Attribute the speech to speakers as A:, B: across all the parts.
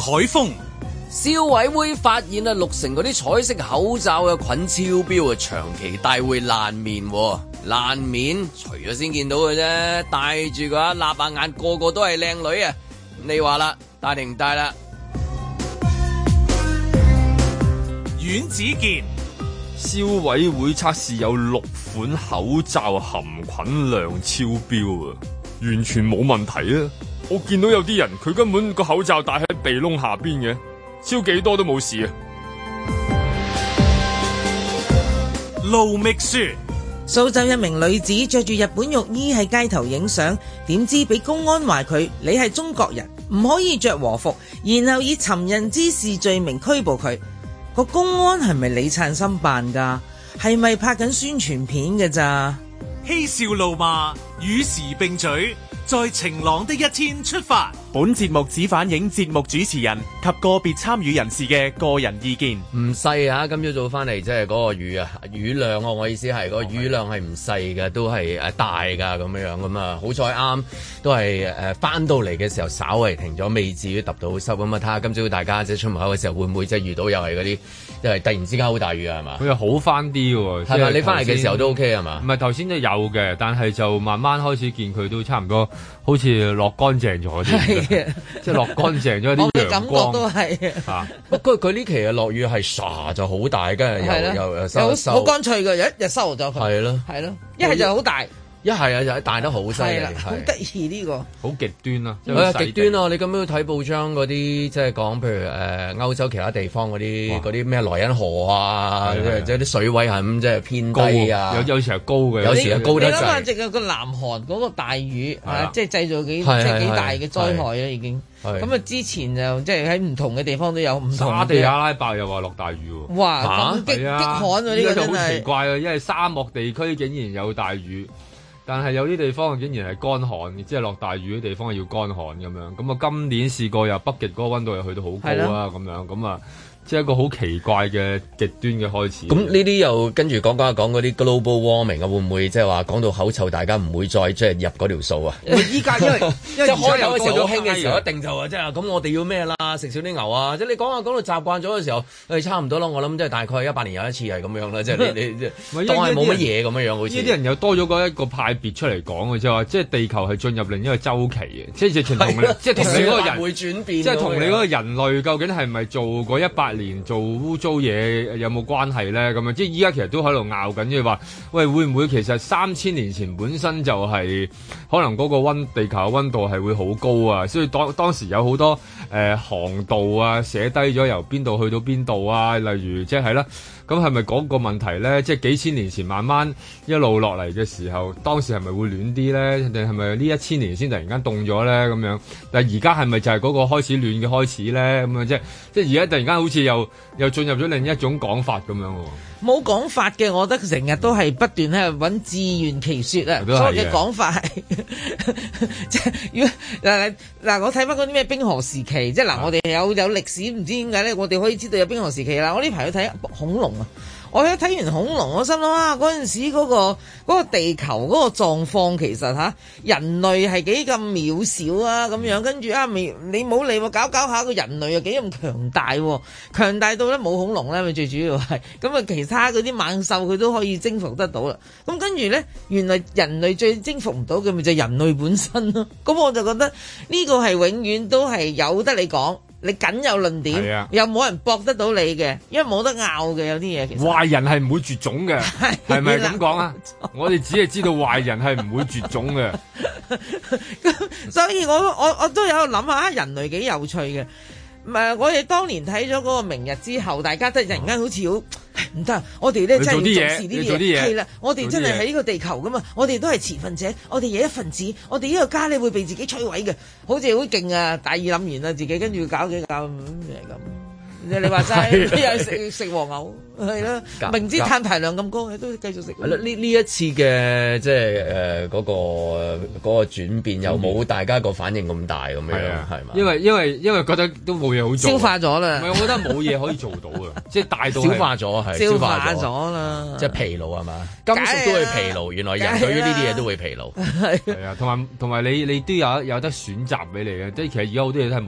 A: 海峰。
B: 消委會發現啊，6成嗰啲彩色口罩嘅菌超標啊，長期戴會爛面。爛面除咗先見到嘅啫，戴住個立下眼，個個都係靚女啊！你話啦，戴定唔戴啦？
A: 阮子健，
C: 消委會測試有6款口罩含菌量超標啊，完全冇問題啊！我見到有啲人佢根本個口罩戴喺鼻窿下邊嘅。超幾多都冇事啊！
A: 盧覓雪，
D: 蘇州一名女子着住日本浴衣喺街頭影相，點知俾公安話佢你係中國人，唔可以着和服，然後以尋釁滋事罪名拘捕佢。個公安係咪李燦森扮㗎？係咪拍緊宣傳片㗎咋？
A: 嬉笑怒罵與時並舉，在晴朗的一天出發。
E: 本節目只反映節目主持人及個別參與人士嘅個人意見。
B: 唔細啊！今朝早翻嚟即係嗰個雨量啊！我意思係個雨量係唔細嘅，都係大㗎咁樣咁啊！好彩啱都係翻到嚟嘅時候稍為停咗，未至於揼到濕咁啊！睇下今朝大家即係出門口嘅時候會唔會即係遇到又係嗰啲即係突然之間好大雨啊？係嘛？
C: 佢又好翻啲喎，係咪？
B: 你翻嚟嘅時候都 OK 係嘛？
C: 唔係頭先都有嘅，但係就慢慢開始見佢都差唔多，好似落乾淨咗啲。即係落乾淨咗啲陽光，
D: 我嘅感覺都係
B: 啊。不過佢呢期嘅落雨係唰就好大，跟住又收
D: 好乾脆嘅，一日收咗佢。係咯，一係就好大。
B: 一係啊，就大得好犀利，
D: 好得意呢個，
C: 好極端啦，
B: 極端啊！你咁樣睇報章嗰啲，即係講譬如歐洲其他地方嗰啲咩萊茵河啊，即係啲水位係咁即係偏低啊，
C: 有時係高嘅，
B: 有時係高得滯。
D: 你諗下，淨係個南韓嗰個大雨即係製造幾大嘅災害啦，已經。咁啊，之前就即係喺唔同嘅地方都有唔同嘅。
C: 沙地阿拉伯又話落大雨喎。
D: 哇！咁激旱啊！呢個真係
C: 好奇怪啊，因為沙漠地區竟然有大雨。但係有啲地方竟然係乾旱，即係落大雨嘅地方係要乾旱咁樣。咁啊，今年試過又北極嗰個溫度又去到好高啊，咁樣咁啊。即係一個好奇怪嘅極端嘅開始。
B: 咁呢啲又跟住講嗰啲 global warming 啊，會唔會即係話講到口臭，大家唔會再即係入嗰條數啊？
C: 依家因為
B: 即係開頭嘅時候好興嘅時候，一定就話即係咁，我哋要咩啦？食少啲牛啊！即係你講到習慣咗嘅時候，差唔多咯。我諗即係大概100年有一次係咁樣啦。即係你當係冇乜嘢咁樣好似
C: 呢啲人又多咗一個派別出嚟講嘅，即係話即係地球係進入另一個週期嘅，即係同你嗰個人
B: 會轉變，
C: 即係同你嗰個人類究竟係咪做過100年做污糟嘢有冇關係咧？咁樣即係依家其實都喺度拗緊，即係話喂，會唔會其實3000年前本身就係可能嗰個地球嘅溫度係會好高啊？所以當時有好多航道啊，寫低咗由邊度去到邊度啊，例如即係啦。咁係咪嗰個問題咧？即係幾千年前慢慢一路落嚟嘅時候，當時係咪會暖啲咧？定係咪呢1000年先突然間凍咗咧？咁樣，但係而家係咪就係嗰個開始暖嘅開始咧？咁樣即係而家突然間好似又進入咗另一種講法咁樣喎。
D: 冇講法嘅，我覺得成日都係不斷喺度揾自圓其說啊。所有嘅講法係即係如果嗱，我睇翻嗰啲咩冰河時期，即係嗱，我哋有歷史，唔知點解咧，我哋可以知道有冰河時期啦。我呢排去睇恐龍啊，我喺睇完恐龍，我心諗啊，嗰陣時嗰個地球嗰個狀況其實人類係幾咁渺小啊咁樣，跟住你冇理喎，搞下個人類又幾咁強大喎，強大到咧冇恐龍咧，咪最主要係咁啊，其他嗰啲猛獸佢都可以征服得到啦。咁跟住咧，原來人類最征服唔到嘅咪就係人類本身咯。咁我就覺得呢個係永遠都係有得你講。你僅有論點，又冇人駁得到你嘅，因為冇得拗嘅有啲嘢。其實
C: 壞人係唔會絕種嘅，係咪咁講啊？我哋只係知道壞人係唔會絕種嘅。
D: 所以我都有諗下，人類幾有趣嘅。我哋當年睇咗嗰個明日之後，大家都突然間好似好唔得，我哋咧真係要重視呢啲嘢。係啦，我哋真係喺呢個地球噶嘛，我哋都係持份者，我哋有一份子，我哋呢個家咧會被自己摧毀嘅，好似好勁啊！大意諗完啦，自己跟住搞幾搞咁。你話齋，又食和牛，係啦，明知碳排量咁高，都繼續食。
B: 係啦，呢一次嘅即係嗰個轉變，又冇大家個反應咁大咁樣，係嘛？
C: 因為覺得都冇嘢好做，
D: 消化咗啦。
C: 唔係，我覺得冇嘢可以做到嘅，即係大到
B: 消化咗係
D: 消化咗啦，
B: 即係疲勞係嘛？金屬都會疲勞，原來人對於呢啲嘢都會疲勞。
C: 係啊，同埋你都有得選擇俾你嘅，即係其實而家好多嘢都係冇。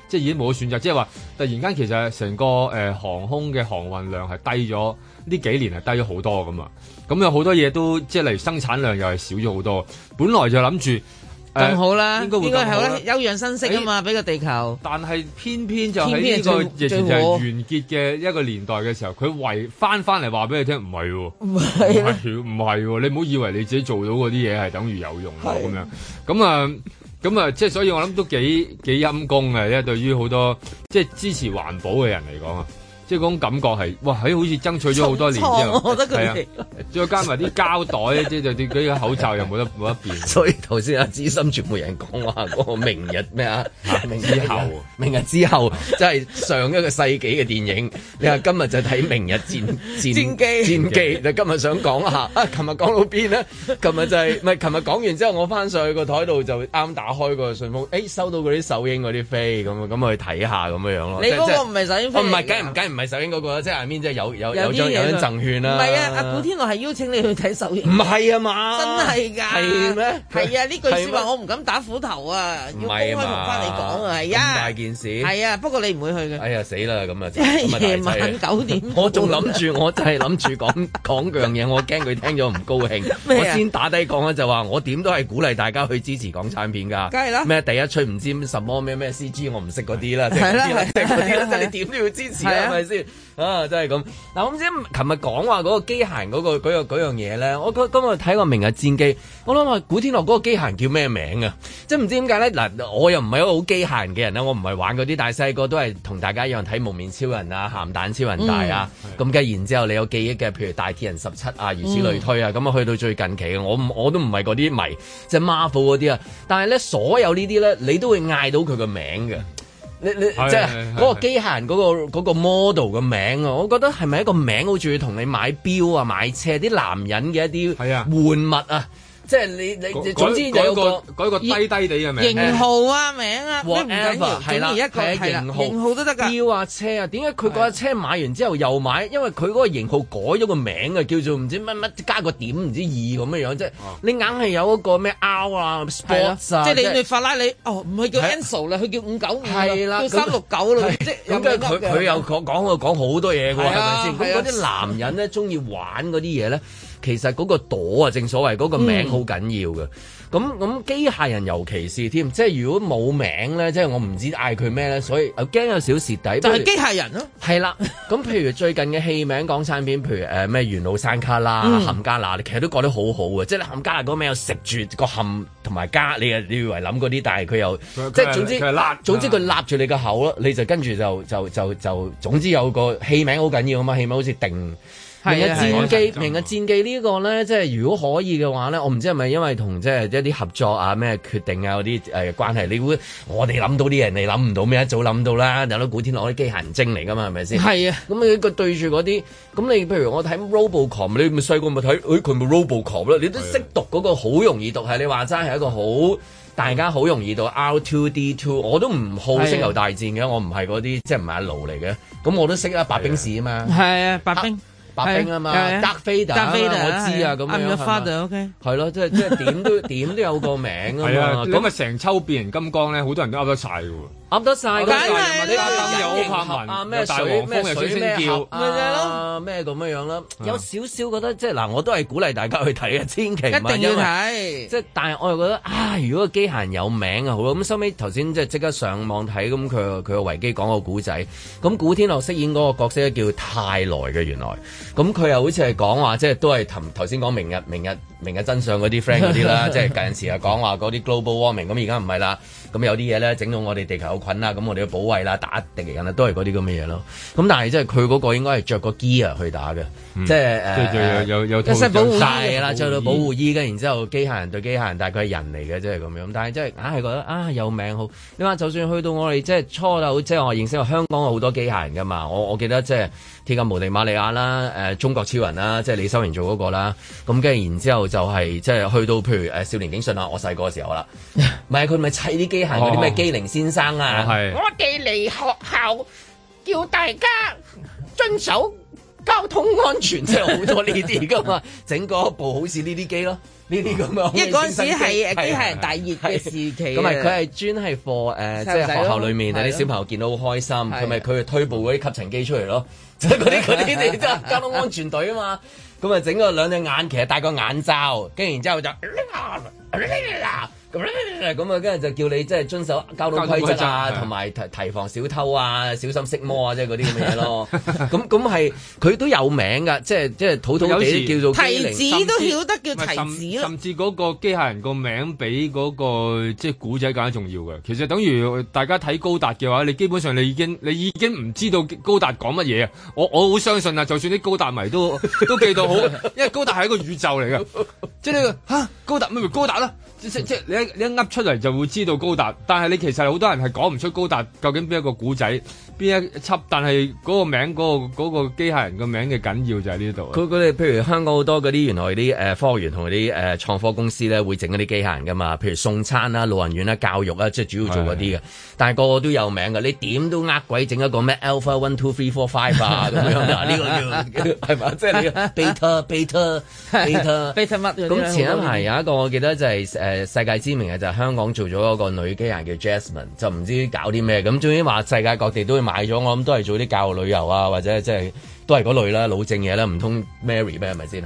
C: 即係已經冇選擇，即係話突然間其實成個航空嘅航運量係低咗，呢幾年係低咗好多㗎嘛。咁有好多嘢都即係例如生產量又係少咗好多。本來就諗住
D: 更好啦，
C: 應該係啦，
D: 休養生息啊嘛，俾個地球。
C: 但係偏偏就喺呢個疫情就係完結嘅一個年代嘅時候，佢翻嚟話俾你聽，唔係喎，唔係喎，你唔好以為你自己做到嗰啲嘢係等於有用喎咁樣。咁啊，即係所以我諗都幾陰功嘅，因為對於好多即係支持環保嘅人嚟講啊。即係嗰種感覺係，哇！好似爭取咗好多年之後，
D: 我覺得佢哋
C: 再加埋啲膠袋，即係啲嗰啲口罩又冇得變。
B: 所以頭先資深傳媒人講話嗰個明日咩啊？明日之後，即係上一個世紀嘅電影。你話今日就睇明日戰機，你今日想講下啊？琴日講到邊咧？琴日就係唔係？琴日講完之後，我翻上去個台度就啱打開個信封，收到嗰啲首映嗰啲飛，咁去睇下咁樣咯。
D: 你嗰個唔係首映飛？
B: 唔係，梗唔係首映嗰個，即係下面即係有張贈券啦。
D: 唔係啊，阿古天樂係邀請你去睇首映。
B: 唔係啊嘛，
D: 真係㗎。係咩？係啊，呢句説話我唔敢打斧頭啊，要公開同翻你講啊，係啊。咁大件事。係啊，不過你唔會去嘅。
B: 哎呀死啦，咁啊！
D: 夜晚9點。
B: 我仲諗住，我就係諗住講樣嘢，我驚佢聽咗唔高興。我先打低講咧，就話我點都係鼓勵大家去支持港產片㗎。梗係啦。咩第一出唔知什麼咩 CG， 我唔識嗰啲啦。係啦，即係你點都要支持啊，係咪先？啊，真係咁。嗱，我唔知琴日講話嗰個機械人嗰樣嘢咧，我今日睇過《明日戰記》，我諗話古天樂嗰個機械人叫咩名啊？即係唔知點解咧？嗱，我又唔係一個好機械人嘅人啦，我唔係玩嗰啲，但係細個都係同大家一樣睇幪面超人啊、鹹蛋超人大啊，咁跟然之後你有記憶嘅，譬如大鐵人17啊，如此類推啊，咁啊去到最近期嘅，我都唔係嗰啲迷，即係 Marvel 嗰啲啊，但係咧所有呢啲咧，你都會嗌到佢個名嘅。你即係嗰個機械人嗰個 model 嘅名啊，我覺得係咪一個名好似要同你買錶啊、買車啲男人嘅一啲玩物啊？即係你總之有個低低地嘅名，
D: 型號啊名啊，
B: 唔緊要，係啦，
D: 型號都得㗎。
B: 錶啊車啊，點解佢嗰架車買完之後又買？因為佢嗰個型號改咗個名啊，叫做唔知乜加個點唔知2咁樣樣，即係你硬係有一個咩 R 啊 Sports 啊，
D: 即係你法拉利唔係叫 Enzo 啦，佢叫595，
B: 係啦，
D: 叫369啦，即係
B: 咁跟住佢又講好多嘢㗎喎，係咪先？咁嗰啲男人咧中意玩嗰啲嘢咧。其實嗰個朵啊，正所謂嗰個名好緊要嘅。咁機械人尤其是添，即係如果冇名咧，即係我唔知嗌佢咩咧，所以我驚有少蝕底。
D: 就係機械人咯。係
B: 啦，咁譬如最近嘅戲名港產片，譬如咩元老山卡啦、冚家乸，你其實都覺得好好嘅，即係你冚家乸嗰個名又食住個冚同埋家，你以為諗嗰啲，但係佢又即係總之佢揦住你個口咯，你就跟住就總之有個戲名好緊要啊嘛，戲名好似定。明日戰記，明日戰記呢個咧，即係如果可以嘅話咧，我唔知係咪因為同即係一啲合作啊、咩決定啊嗰啲關係，你會我哋諗到啲人，你諗唔到咩？一早諗到啦，有得古天樂啲機械人精嚟㗎嘛，係咪先？係啊，咁你個對住嗰啲，咁你譬如我睇 Robocop， 你咪細個咪睇，佢咪 Robocop 啦，你都識讀嗰個好容易讀，係你話齋係一個好大家好容易讀 R2D2， 我都唔好星球大戰嘅，我唔係嗰啲即係唔係阿盧嚟嘅，咁我都識啊白兵士啊嘛，係啊白兵。白兵啊嘛，Darth Vader，我知啊，咁樣係嘛，係咯，即係點都有個名啊嘛，
C: 咁啊成抽變形金剛咧，好多人都噏得晒嘅喎。
B: 噏得晒，
D: 梗係啦，
C: 有柏文，咩大黃蜂又水咩叫，
B: 咪就係咯，咩咁樣啦，有少少覺得即係嗱，我都係鼓勵大家去睇啊，千祈唔係
D: 一定要睇，
B: 即係但係我又覺得如果個機械人有名啊好咯，咁收尾頭先即刻上網睇，咁佢個維基講個古仔，咁古天樂飾演嗰個角色咧叫泰來嘅原來，咁佢又好似係講話即係都係頭先講明日真相嗰啲 friend 嗰啲啦，即係近時啊講話嗰啲 global warming，咁而家唔係啦。咁有啲嘢咧整到我哋地球有菌啦，咁我哋要保衞啦，打敵人啦，都係嗰啲咁嘅嘢咯。咁但係即係佢嗰個應該係着個 gear 去打嘅，即係有保護衣啦，着到保護衣嘅，然之後機械人對機械人，但係佢係人嚟嘅，即係咁樣。但係即係硬係覺得有名好。你話就算去到我哋即係初頭，即係我認識香港有好多機械人㗎嘛。我記得即係鐵甲無敵瑪利亞啦，中國超人啦，即係李修賢做嗰個啦。咁跟住然之後就係即係去到譬如少年警訊啊，我細個嘅時候啦，唔係佢咪砌啲機械人嗰啲咩機靈先生啊，我哋嚟學校叫大家遵守交通安全真係好多呢啲噶嘛，整嗰部好似呢啲機咯。呢啲咁樣，
D: 因為嗰陣時係機械人大熱嘅時期，
B: 咁咪佢係專係 for 即係學校裏面啲小朋友見到好開心，佢咪佢推部嗰啲吸塵機出嚟咯，即係嗰啲你即係交通安全隊啊嘛，咁啊整個兩隻眼，其實戴個眼罩，跟住然之後就咁啊，跟住就叫你即係遵守交通規則啊，同埋提防小偷啊，小心色魔啊，即係嗰啲咁嘅嘢咯。咁係佢都有名㗎，即係土土地叫做
D: 提子都曉得叫提子，
C: 甚至嗰個機械人個名比嗰個即係古仔更加重要嘅。其實等於大家睇高達嘅話，你基本上你已經唔知道高達講乜嘢啊！我好相信啊，就算啲高達迷都記到好，因為高達係一個宇宙嚟嘅，即係呢個高達咪高達啦。即你一噏出嚟就會知道高達，但係你其實好多人係講唔出高達究竟邊一個古仔邊一輯，但係嗰個名嗰個機械人個名嘅緊要就喺呢度。
B: 佢哋譬如香港好多嗰啲原來啲科學園同嗰啲創科公司咧會整嗰啲機械人噶嘛，譬如送餐啦、老人院啦、教育啦，即係主要做嗰啲嘅。但係個個都有名嘅，你點都呃鬼整一個咩 Alpha 1 2 3 4 5啊咁樣啊？呢個叫係嘛？即係你 beta
D: 乜？
B: 咁前一排有一個我記得就係世界知名嘅就係香港做咗一個女機械人叫 Jasmine， 就唔知搞啲咩咁，總之話世界各地都會買咗，我諗都係做啲教育旅遊啊，或者即係都係嗰類啦，老正嘢啦，唔通 Mary 咩係咪先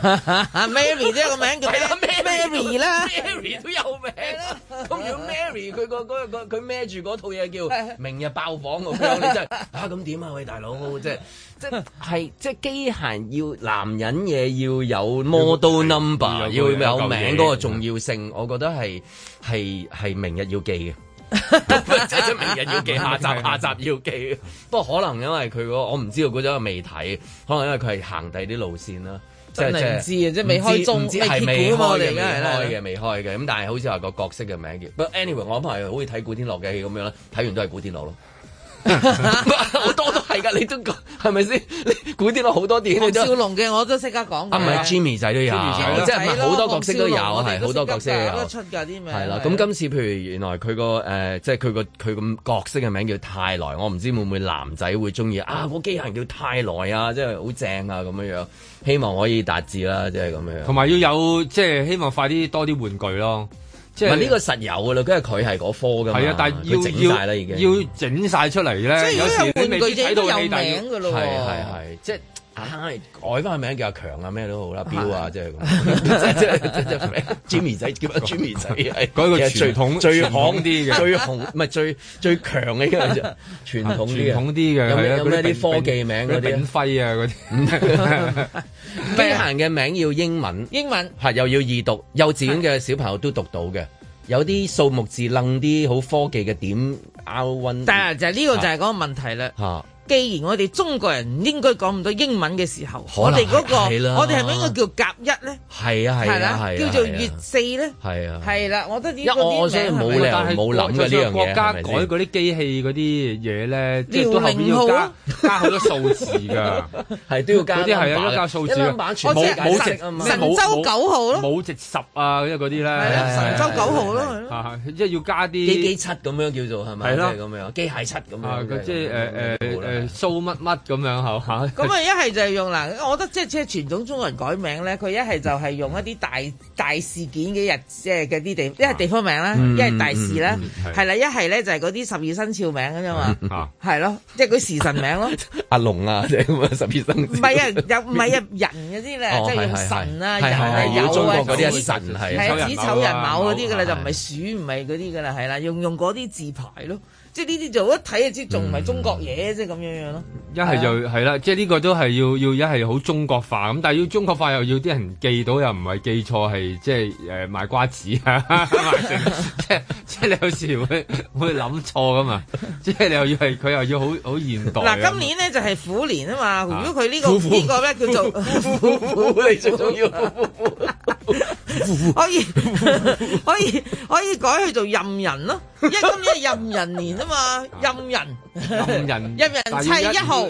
D: ？Mary 啫個名叫咩？Mary 啦
B: ，Mary 都有名啦。咁如果 Mary 佢孭住嗰套嘢叫明日爆房咁樣，你真係咁點啊？喂大佬，即係機械要男人嘢要有 model number， 要有名嗰個重要性，我覺得係明日要記嘅。即係明日要記，下集要記。不過可能因為佢我唔知道嗰種未睇，可能因為佢係行第啲路線啦。
D: 真係唔知啊！即係未開中，
B: 未開嘅，未開嘅。咁但係好似話個角色嘅名叫。不過 anyway，我諗係好似睇古天樂嘅戲咁樣啦，睇完都係古天樂咯。好多都係㗎，你都講係咪先？你古天樂好多電影，
D: 少龍嘅我都識得講。
B: 唔係 Jimmy 仔都有，即係好多角色都有，係好多角色都有。
D: 出㗎啲名。
B: 係啦，咁今次譬如原來佢個即係佢個角色嘅名叫泰來，我唔知會唔會男仔會中意啊？個機械人叫泰來啊，即係好正啊咁樣樣，希望可以達至啦，即係咁樣。
C: 同埋要有即係希望快啲多啲玩具咯。
B: 唔係呢個實有㗎啦，因為佢係嗰科㗎嘛。係啊，但係要整晒啦已經。
C: 要整晒出嚟咧，有時你未必睇到戲，但係
B: 係即係改翻個名叫阿強啊咩都好啦，標啊即係咁。即係 Jimmy 仔叫阿 Jimmy 仔，
C: 改個傳統最行啲嘅，
B: 最紅唔係最強嘅一個啫，傳統啲嘅。有咩啲科技名嗰啲？
C: 炳輝啊嗰啲。
B: 機械人嘅名要英文係又要易讀，幼稚園嘅小朋友都讀到嘅。有啲數目字愣啲好科技嘅點 R1，
D: 但係就係呢個就係嗰個問題啦。既然我哋中國人唔應該講咁多英文嘅時候，我哋嗰個我哋係咪應該叫甲一咧？
B: 係啊，
D: 叫做乙四咧？係啦，我覺得呢個
B: 我所以冇理由冇諗嘅呢樣嘢。
C: 國家改嗰啲機器嗰啲嘢咧，即係都後邊要加好多數字㗎，
B: 係都要加。
C: 嗰啲係要加數字。
D: 冇直神舟9號咯，
C: 冇直10啊，因為嗰啲咧。
D: 神舟9號咯，
C: 即係要加啲
B: 機7咁樣叫做係咪？係咯，咁樣機械7咁樣。
C: 即係蘇乜乜咁樣係嘛？
D: 咁啊一係就係用嗱，我覺得即係傳統中國人改名咧，佢一係就係用一啲大事件嘅日，即係嘅啲地，一係地方名啦，一係大事啦，係啦，一係咧就係嗰啲12生肖名㗎啫嘛，係咯，即係嗰時辰名咯。阿龍啊，即係咁啊12生肖。唔係啊，又唔係啊，人嗰啲咧，即係用神啊，人啊，有啊，
B: 中國嗰啲神係
D: 子丑人卯嗰啲㗎啦，就唔係鼠唔係嗰啲㗎啦，係啦，用嗰啲字牌咯。即係呢啲就一睇就知仲唔係中國嘢，即係咁樣樣咯。一係就係啦，即係呢個都係要一係好中國化咁，但係要中國化又要啲人記到，又唔係記錯係即係賣瓜子啊，即係你有時會諗錯噶嘛，即係你又要係佢又要好現代。嗱，今年咧就係虎年啊嘛，如果佢呢個咧叫做虎，你最重要可以改去做壬人咯，因為今年係壬人年啊嘛，壬人砌1號，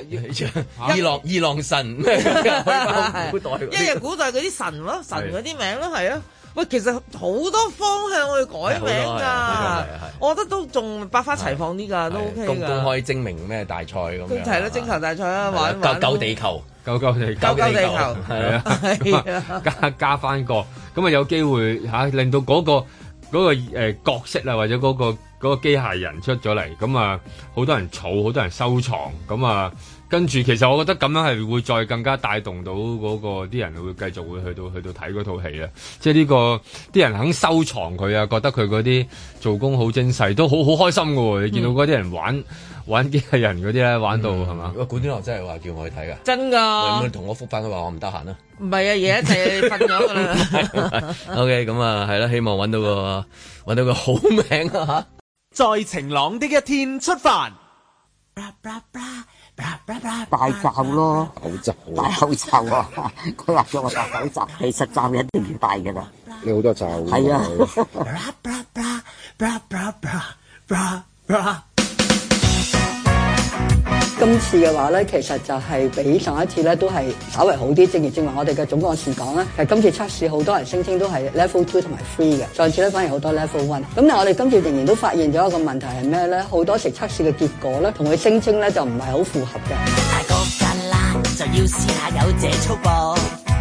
B: 二郎神，因為
D: 古代嗰啲神咯，神嗰啲名咯，係啊， 喂，其實好多方向去改名㗎，我覺得都仲百花齊放啲㗎，都 OK 㗎。公開精明咩大賽咁樣？係啦，徵球大賽啊，玩救地球，救地球，係啊，
C: 加翻個，咁啊有機會令到嗰個角色啊，或者嗰個機械人出咗嚟，咁啊好多人儲，好多人收藏，咁啊。跟住，其實我覺得咁樣係會再更加帶動到嗰個啲人會繼續會去到睇嗰套戲啊！即係呢個啲人肯收藏佢啊，覺得佢嗰啲做工好精細，都好開心㗎喎！你見到嗰啲人玩機器人嗰啲咧，玩到係嘛？古天樂真係話叫我去睇㗎，真㗎！會唔會同我覆返佢話我唔得閒啊？
D: 唔係啊，夜一齊瞓咗㗎啦。
B: OK， 咁啊係啦，希望揾到個好名啊
E: 嚇！在晴朗的一天出發。
F: 戴罩咯，戴口罩啊！佢話叫我戴口罩，其實罩一定要戴㗎啦。你好多罩。係啊。
G: 今次嘅話咧，其實就係比上一次咧都係稍為好啲。正話我哋嘅總幹事講咧，其實今次測試好多人聲稱都係 level 2同埋 3嘅，上次咧反而好多 level 1。咁但係我哋今次仍然都發現咗一個問題係咩咧？好多時測試嘅結果咧，同佢聲稱咧就唔係好符合嘅。大個㗎啦，就要試下有這粗噃。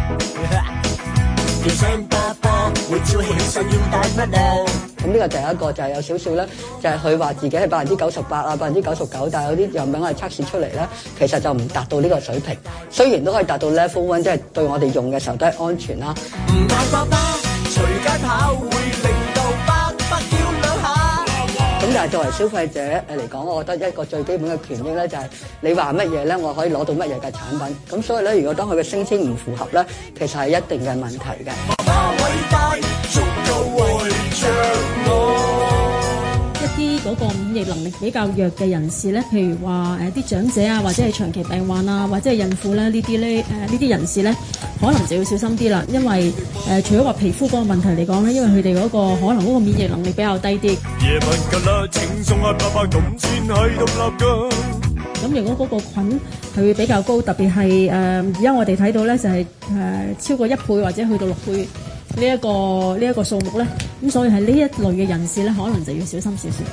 G: 要聲波波，會照起身要帶乜咧？咁呢個第一個就係有少少咧，就係佢話自己係98%啊99%，但係有啲樣品我哋測試出嚟咧，其實就唔達到呢個水平。雖然都可以達到 level 1，即係對我哋用嘅時候都係安全啦。唔嗌爸爸，隨街跑會令到爸爸叫兩下。咁但係作為消費者嚟講，我覺得一個最基本嘅權益咧，就係你話乜嘢咧，我可以攞到乜嘢嘅產品。咁所以咧，如果當佢嘅聲稱唔符合咧，其實係一定嘅問題嘅。
H: 一啲嗰個免疫能力比較弱嘅人士咧，譬如話啲長者啊，或者係長期病患啊，或者係孕婦咧，呢啲人士咧，可能就要小心啲啦，因為除咗話皮膚嗰個問題嚟講咧，因為佢哋嗰個可能嗰個免疫能力比較低啲。咁如果嗰個菌係會比較高，特別係而家我哋睇到咧就係超過1倍或者去到6倍。呢一個數目咧，咁所以係呢一類嘅人士咧，可能就要小心少少。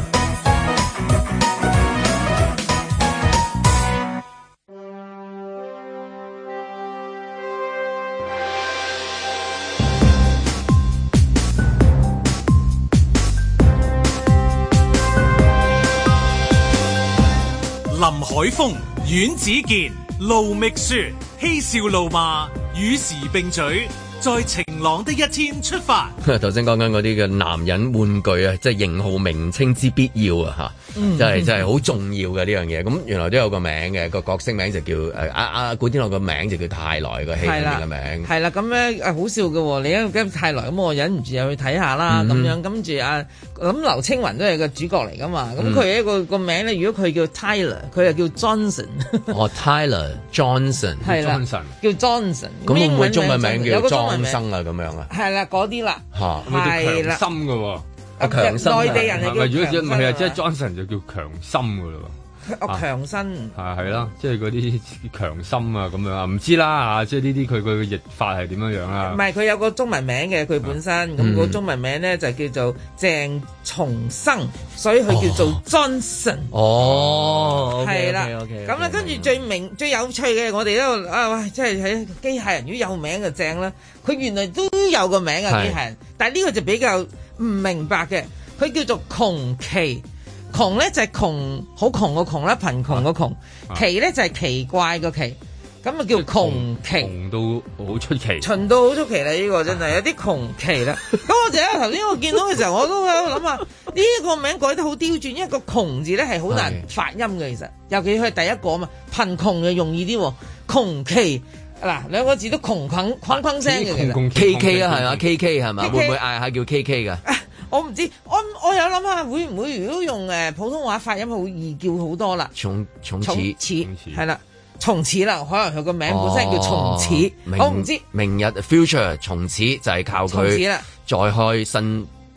A: 林海峰、阮子健、盧覓雪，嬉笑怒罵，與時並舉。在晴朗的一天出發。
B: 頭先講緊嗰啲嘅男人玩具啊，即係型號名稱之必要啊，真係好重要嘅呢樣嘢。咁原來都有個名嘅，個角色名就叫古天樂個名就叫泰來，個戲裏面嘅名。係啦，咁咧好笑嘅喎，你一個泰來咁，我忍唔住又去睇下啦，咁樣跟住咁劉青雲都係個主角嚟噶嘛，咁佢一個名咧，如果佢叫 Tyler， 佢就叫 Johnson。哦，Tyler Johnson， 係啦，叫 Johnson。咁會唔會中文名叫莊生啊？咁樣啊？係啦，嗰啲啦，係啦，強心嘅喎，強心。內地人係叫強心。唔係啊，即係 Johnson 就叫強心嘅咯。強身係啦，即係嗰啲強心啊咁樣啊，唔知啦嚇，即係呢啲佢嘅譯法係點樣樣啦？唔係，佢有個中文名嘅，佢本身咁個中文名咧就叫做鄭重生，所以佢叫做 Johnson。哦，係啦，咁咧跟住最有趣嘅，我哋都即係喺機械人如果有名就正啦。佢原來都有個名啊，機械人，但係呢個就比較唔明白嘅，佢叫做窮奇。窮咧就係窮，好窮個窮啦，貧窮個窮。奇咧就係奇怪個奇，咁啊叫窮奇。窮到好出奇，蠢到好出奇啦！呢個真係有啲窮奇啦。咁我就喺頭先我見到嘅時候，我都喺度諗啊，呢個名改得好刁鑽，因為個窮字咧係好難發音嘅，其實尤其佢係第一個啊嘛，貧窮就容易啲。窮奇嗱兩個字都窮框聲嘅，K K 啊係嘛 ，K K 係嘛，會唔會嗌下叫 K K 噶？我唔知，我有諗下會唔會如果用普通話發音好易叫好多啦。從此係啦，從此啦，可能佢個名本身叫從此，我唔知。明日 future 從此就係靠佢再開新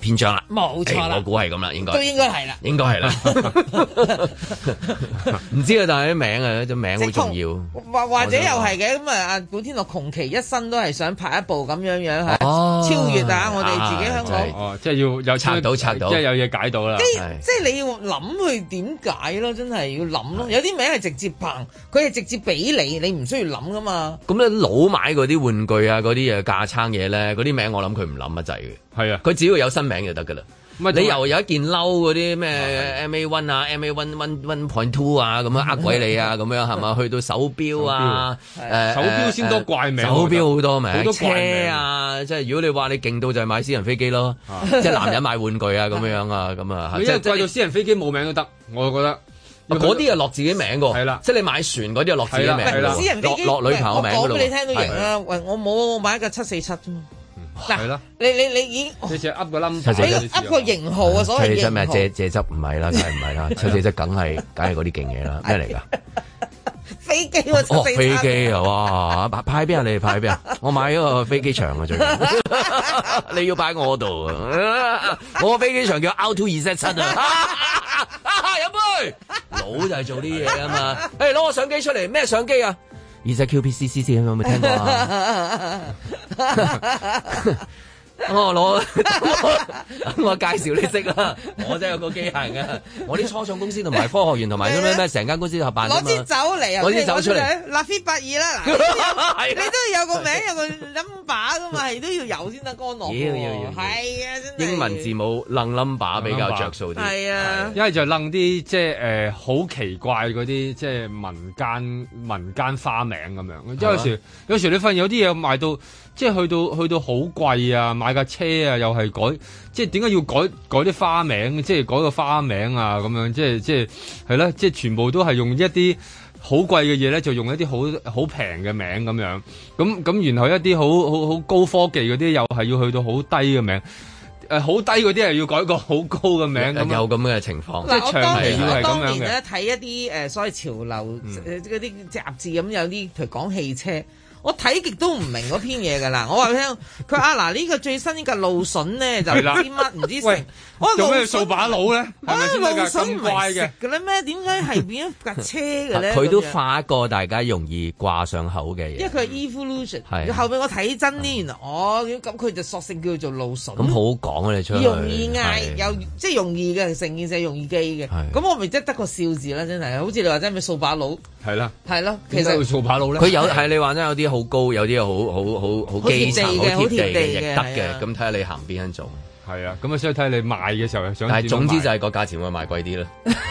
B: 篇章啦，
D: 冇錯啦，
B: 我估係咁啦，應該
D: 都應該係啦，
B: 應該係啦。唔知啊，但係啲名啊，啲名好重要。
D: 或者又係嘅咁啊！阿古天樂窮其一生都係想拍一部咁樣係超越我哋自己香港。
C: 即係要有
B: 拆到，即
C: 係有嘢解到啦。
D: 即係你要諗佢點解咯，真係要諗咯。有啲名係直接憑，佢係直接俾你唔需要諗噶嘛。
B: 咁咧老買嗰啲玩具啊，嗰啲架撐嘢咧，嗰啲名我諗佢唔諗乜滯嘅。係啊，佢只要有新名就得噶啦。你又有一件褸嗰啲咩 MA1 啊 MA1.2 啊咁樣呃鬼你啊咁樣係嘛？去到手錶啊
C: 手錶先多怪名，
B: 手錶好多名，
C: 好多怪名
B: 車啊，即係如果你話你勁到就係買私人飛機咯，即係男人買玩具啊咁樣啊咁啊，
C: 即係貴到私人飛機冇名都得，我覺得。
B: 嗰啲啊落自己名㗎，
C: 係啦，
B: 即係你買船嗰啲啊落自己名，
D: 私人飛機
B: 落女朋友名㗎咯。
D: 我講俾你聽都型啦，喂，我買一架747啫嘛。
C: 係啦，
D: 你已經
C: 你只噏個 number，
D: 你噏個型號啊，所謂型號。
B: 咩蔗汁唔係啦，梗係唔係啦，747梗係嗰啲勁嘢啦，咩嚟㗎？
D: 飛機喎，747。
B: 飛機啊，哇！派邊啊？你派邊啊？我買咗個飛機場啊，最近。你要擺我度啊！我個飛機場叫 R227啊！飲杯，老就係做啲嘢啊嘛。攞個相機出嚟，咩相機啊？二隻 QPCC 有冇聽過啊？我介紹你識啦，我真係有個機械嘅，我啲初創公司同埋科學園同埋咩成間公司合辦啫嘛。
D: 攞支酒嚟啊！
B: 攞支酒出嚟，
D: 拉菲8.2啦，嗱，你都要有個名有個 number 噶嘛，係都要有先得干落。要，係啊，真係。英文
B: 字母楞 number 比較着數啲。係啊，
C: 一係就楞啲即係好奇怪嗰啲即係民間花名咁樣。即係有時你發現有啲嘢賣到即係去到好貴啊！買架車啊，又係改，即係點解要改啲花名？即係改個花名啊，咁樣即係啦，即係全部都係用一啲好貴嘅嘢咧，就用一啲好平嘅名咁樣。咁然後一啲好高科技嗰啲，又係要去到好低嘅名。好低嗰啲係要改個好高嘅名，
B: 有咁嘅情況。
D: 即係長期
C: 要係咁樣嘅。
D: 當年咧睇一啲所謂潮流嗰啲雜誌咁，有啲譬如講汽車。我睇極都唔明嗰篇嘢㗎啦！我話俾你聽，佢話嗱呢個最新呢個路筍咧就唔知乜唔知成，
C: 做咩掃把佬咧？係咪先得㗎？咁怪嘅
D: 㗎咧咩？點解係變咗架車嘅咧？
B: 佢都化一個大家容易掛上口嘅嘢。
D: 因為佢係 evolution，後邊我睇真啲，原來咁佢就索性叫做路筍。
B: 咁好講啊！你出去
D: 容易嗌又即係容易嘅，成件事係容易記嘅。咁我咪即係得個笑字啦，真係好似你話真係咩掃把佬。係啦，其實
C: 掃把佬咧，
B: 佢有係你話真有啲好高，有啲好基層、好貼地嘅，亦得嘅。咁睇下你行邊一種。
C: 係啊，咁啊所以睇你賣嘅時候想。
B: 但係總之就係個價錢會賣貴啲啦。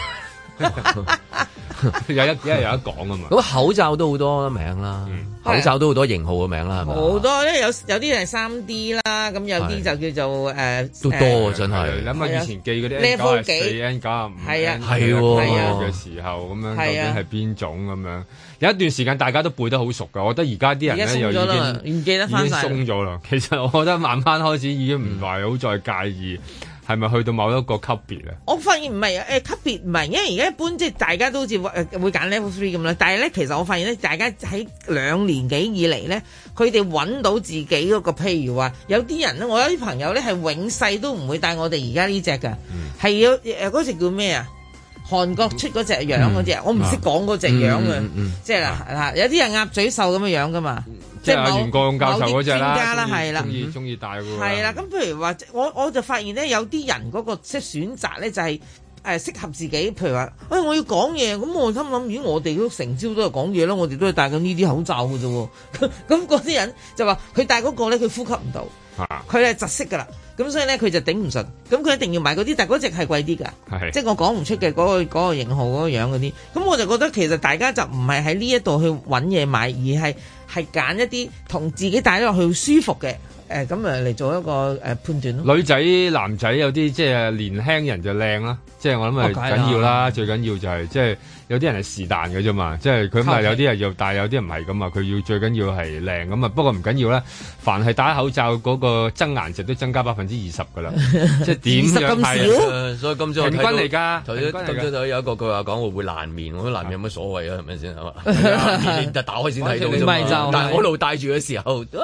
C: 有一講啊嘛。
B: 咁口罩都好多名啦，口罩都好多型號嘅名啦，係咪？
D: 好多，因為有啲係3D 啦，咁有啲就叫做
B: 都多真係。
C: 諗下以前記嗰啲 N94、N95，
D: 係啊，
B: 係
C: 嘅時候咁樣，究竟係邊種咁樣？有一段時間大家都背得好熟㗎，我覺得而家啲人咧又已經
D: 唔記得翻晒，
C: 鬆咗啦。其實我覺得慢慢開始已經唔係好再介意。係咪去到某一個級別咧？
D: 我發現唔係級別唔係，因為而家一般即係大家都好似會揀 level 3咁啦。但係咧，其實我發現咧，大家喺2年幾以嚟咧，佢哋揾到自己嗰個，譬如話有啲人咧，我有啲朋友咧係永世都唔會戴我哋而家呢隻㗎，係要嗰隻叫咩啊？韓國出嗰隻樣嗰隻，我唔識講嗰隻樣嘅，即係啦，有啲人鴨嘴獸咁樣樣噶嘛。
C: 即係阿袁國勇教授嗰隻啦，
D: 係啦，
C: 中意戴喎。
D: 係啦，咁譬如話，我就發現咧，有啲人嗰個即係選擇咧，就係適合自己。譬如話，我要講嘢，咁我心諗，如果我哋都成朝都係講嘢咯，我哋都係戴緊呢啲口罩嘅啫喎。咁嗰啲人就話，佢戴嗰個咧，佢呼吸唔到，佢係窒息㗎啦。咁所以咧，佢就頂唔順，咁佢一定要買嗰啲，但係嗰隻係貴啲㗎，即係我講唔出嘅嗰個型號嗰個樣嗰啲。咁我就覺得其實大家就唔係喺呢一度去揾嘢買，而係揀一啲同自己戴落去舒服嘅，咁嚟做一個判斷咯。
C: 女仔男仔有啲即係年輕人就靚啦，即係我諗係緊要啦，最緊要就係即係有啲人係是但嘅啫嘛，即係佢唔係有啲人要戴，有啲人唔係咁啊，佢要最緊要係靚咁啊。不過唔緊要啦，凡係戴口罩嗰個增顏值都增加20%㗎啦，即係點樣係？
B: 所以今朝
C: 平均嚟㗎，
B: 今朝有一個佢話講會爛面，我覺得爛面有乜所謂啊？係咪先係嘛？面就打開先睇到啫嘛。但係我一路戴住嘅時候，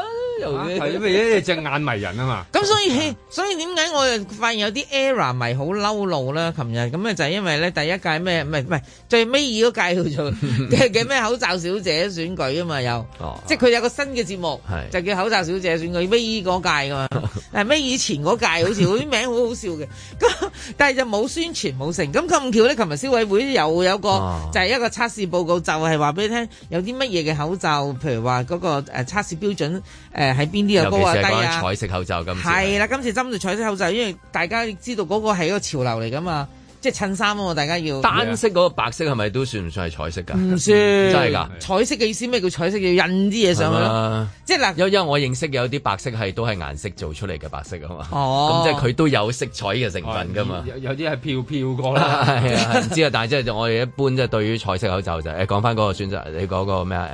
C: 係因為隻眼迷人啊嘛。
D: 咁所以點解我又發現有啲 ERROR 迷好嬲怒啦？琴日咁咧就係因為咧第一屆咩唔係最尾二嗰屆叫做嘅咩口罩小姐選舉啊嘛，又即係佢有個新嘅節目就叫口罩小姐選舉，尾二嗰屆噶嘛，尾以前嗰屆好似嗰啲名好好笑嘅，咁但係就冇宣傳冇成，咁咁巧咧，琴日消委會又有個就係一個測試報告，就係話俾你聽有啲乜嘢嘅口罩，譬如話嗰個測試標準喺邊啲又高啊低啊，
B: 彩色口罩今次
D: 係啦，今次針對彩色口罩，因為大家知道嗰個係一個潮流嚟噶嘛。即係襯衫啊嘛，大家要
B: 單色嗰個白色係咪都算唔算係彩色㗎？
D: 唔算，
B: 真係㗎。
D: 彩色嘅意思咩叫彩色？要印啲嘢上去咯。即係嗱，
B: 因為我認識有啲白色都係顏色做出嚟嘅白色啊嘛。
D: 哦，
B: 咁即係佢都有色彩嘅成分㗎嘛。
C: 有啲係飄過啦。
B: 係啊，唔知啊，但係即係我哋一般即係對於彩色口罩就講翻嗰個選擇，你講個咩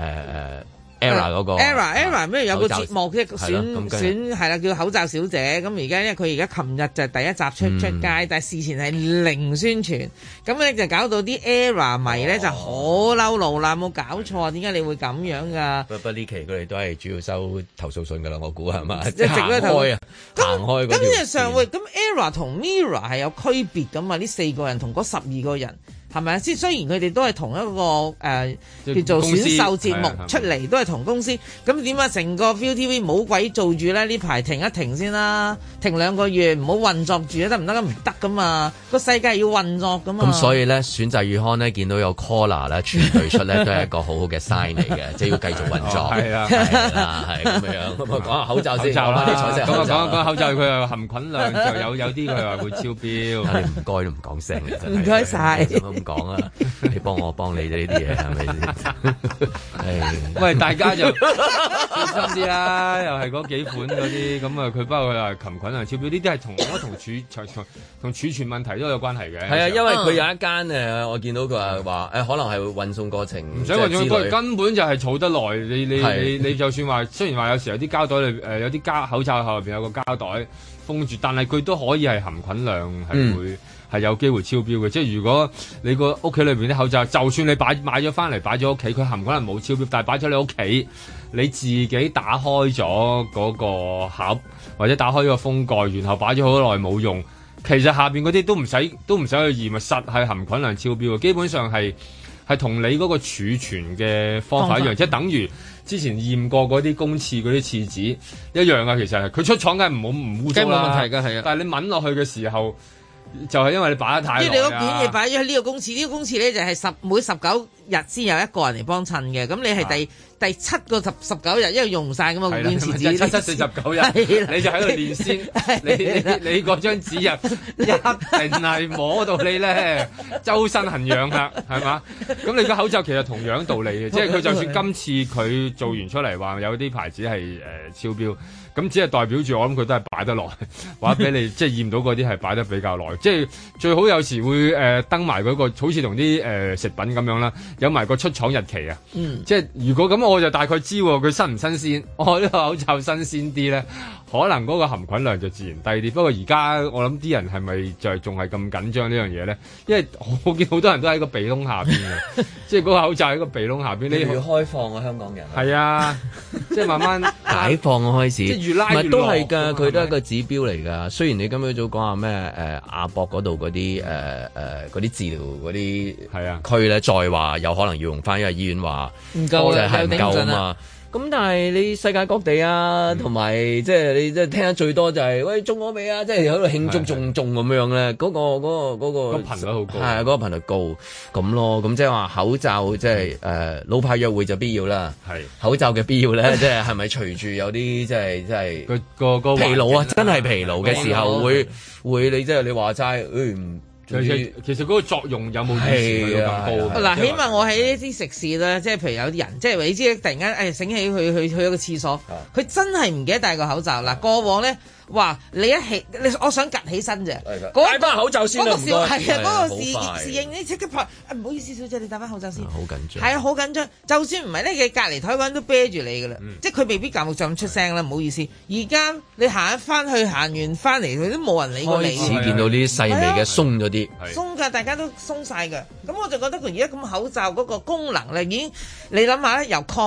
B: ERROR 嗰個
D: ERROR 咩有個節目即係選係啦，叫口罩小姐。咁而家因為佢而家琴日就第一集出街，但係事前係零宣傳，咁咧就搞到啲 ERROR 迷咧就好嬲怒啦！冇搞錯啊？點解你會咁樣㗎？
B: 不呢期佢哋都係主要收投訴信㗎啦，我估係嘛？
D: 一直都投訴啊，
B: 行開嗰條線。
D: 咁上會咁 ERROR 同 MIRROR 係有區別㗎嘛？呢4個人同嗰12個人。係咪啊？即係雖然佢哋都係同一個叫做選秀節目出嚟，都係同公司。咁點解成個 ViuTV 冇鬼做住咧？呢排停一停先啦，停2個月，唔好運作住啊！得唔得？唔得噶嘛，個世界要運作噶嘛。
B: 咁所以咧，選擇月刊咧見到有 Collar 咧全隊出咧，都係一個好好嘅 sign 嚟嘅，即係要繼續運作。係啊，係咁樣。咁啊，講下口罩先。咁啊，
C: 講口罩，佢又含菌量就有啲佢話會超標。
B: 你唔該都唔講聲嘅真係。
D: 唔該晒。
B: 咁講啊，你幫我幫你呢啲嘢係咪先？
C: 喂，大家就小心啲啦，又係嗰幾款嗰啲咁啊，佢包括話禽菌啊超標，呢啲係同儲存問題都有關係嘅。
B: 係啊，因為佢有一間我見到佢話可能係運送過程，
C: 唔使運送過程，根本就係儲得耐。你就算話，雖然話有時有啲膠袋裏有啲口罩後邊有個膠袋封住，但係佢都可以係含菌量係會。係有機會超標嘅，即係如果你個屋企裏邊啲口罩，就算你買咗翻嚟擺咗屋企，佢含可能冇超標，但係擺咗你屋企，你自己打開咗嗰個盒或者打開咗個封蓋，然後擺咗好耐冇用，其實下邊嗰啲都唔使去驗啊，實係含菌量超標嘅，基本上係同你嗰個儲存嘅方法一樣，即係等於之前驗過嗰啲公廁嗰啲廁紙一樣啊，其實係佢出廠梗係唔污糟啦，
D: 冇問題㗎，係啊，
C: 但係你聞落去嘅時候。就係因為你擺得太耐，
D: 即係你嗰件嘢擺咗喺呢個公廁，呢個公廁咧就係每19日先有一個人嚟幫襯嘅，咁你係第7個19日，因為用唔晒㗎嘛，換廁紙
C: 749日，你就喺度練先，你嗰張紙一定係摸到你咧，周身痕癢啦，係嘛？咁你個口罩其實同樣道理嘅，即係佢就算今次佢做完出嚟話有啲牌子係超標。咁只係代表住我諗佢都係擺得耐，或者俾你即係驗到嗰啲係擺得比較耐，即係最好有時會登埋嗰個，好似同啲食品咁樣啦，有埋個出廠日期啊。即係如果咁我就大概知佢新唔新鮮，我呢個口罩新鮮啲咧，可能嗰個含菌量就自然低啲。不過而家我諗啲人係咪就係仲係咁緊張呢樣嘢咧？因為我見好多人都喺個鼻窿下邊嘅，即係嗰個口罩喺個鼻窿下邊。
B: 你要開放啊，香港人。
C: 係啊，即係慢慢
B: 解放開始。
C: 唔係
B: 都係㗎，佢都係一個指標嚟㗎。雖然你今日早講下咩亞博嗰度嗰啲嗰啲治療嗰啲係啊區咧，再話有可能要用翻，因為醫院話唔夠啦，係唔夠啊嘛。咁但係你世界各地啊，同埋即係你即係聽得最多就係喂中咗未啊？即係喺度慶祝中咁樣咧，嗰個
C: 頻率好高，
B: 係嗰個頻率高咁咯。咁即係話口罩即係老派約會就必要啦。係口罩嘅必要咧，即係咪隨住有啲即係個疲勞啊？真係疲勞嘅時候會你即係你話齋
C: 其實嗰個作用有冇以前咁高？
D: 嗱，起碼我喺呢啲食肆咧，即係譬如有啲人，即係你知突然間醒起去一個廁所，佢真係唔記得戴個口罩。嗱，過往咧話你我想趌起身啫，
B: 戴翻口罩先啦，唔該。
D: 係啊，嗰個侍應你即刻拍，唔好意思，小姐你戴翻口罩先。
B: 好緊張。係啊，
D: 好緊張。就算唔係咧，佢隔離台嗰人都啤住你噶啦，即係佢未必咁出聲啦，唔好意思。而家你行翻去，行完翻嚟，佢都冇人理過你。
B: 開始見到呢啲細微嘅鬆咗啲。
D: 鬆㗎，大家都鬆晒㗎。咁我就覺得佢而家咁口罩嗰個功能咧，已經你諗下咧，由抗疫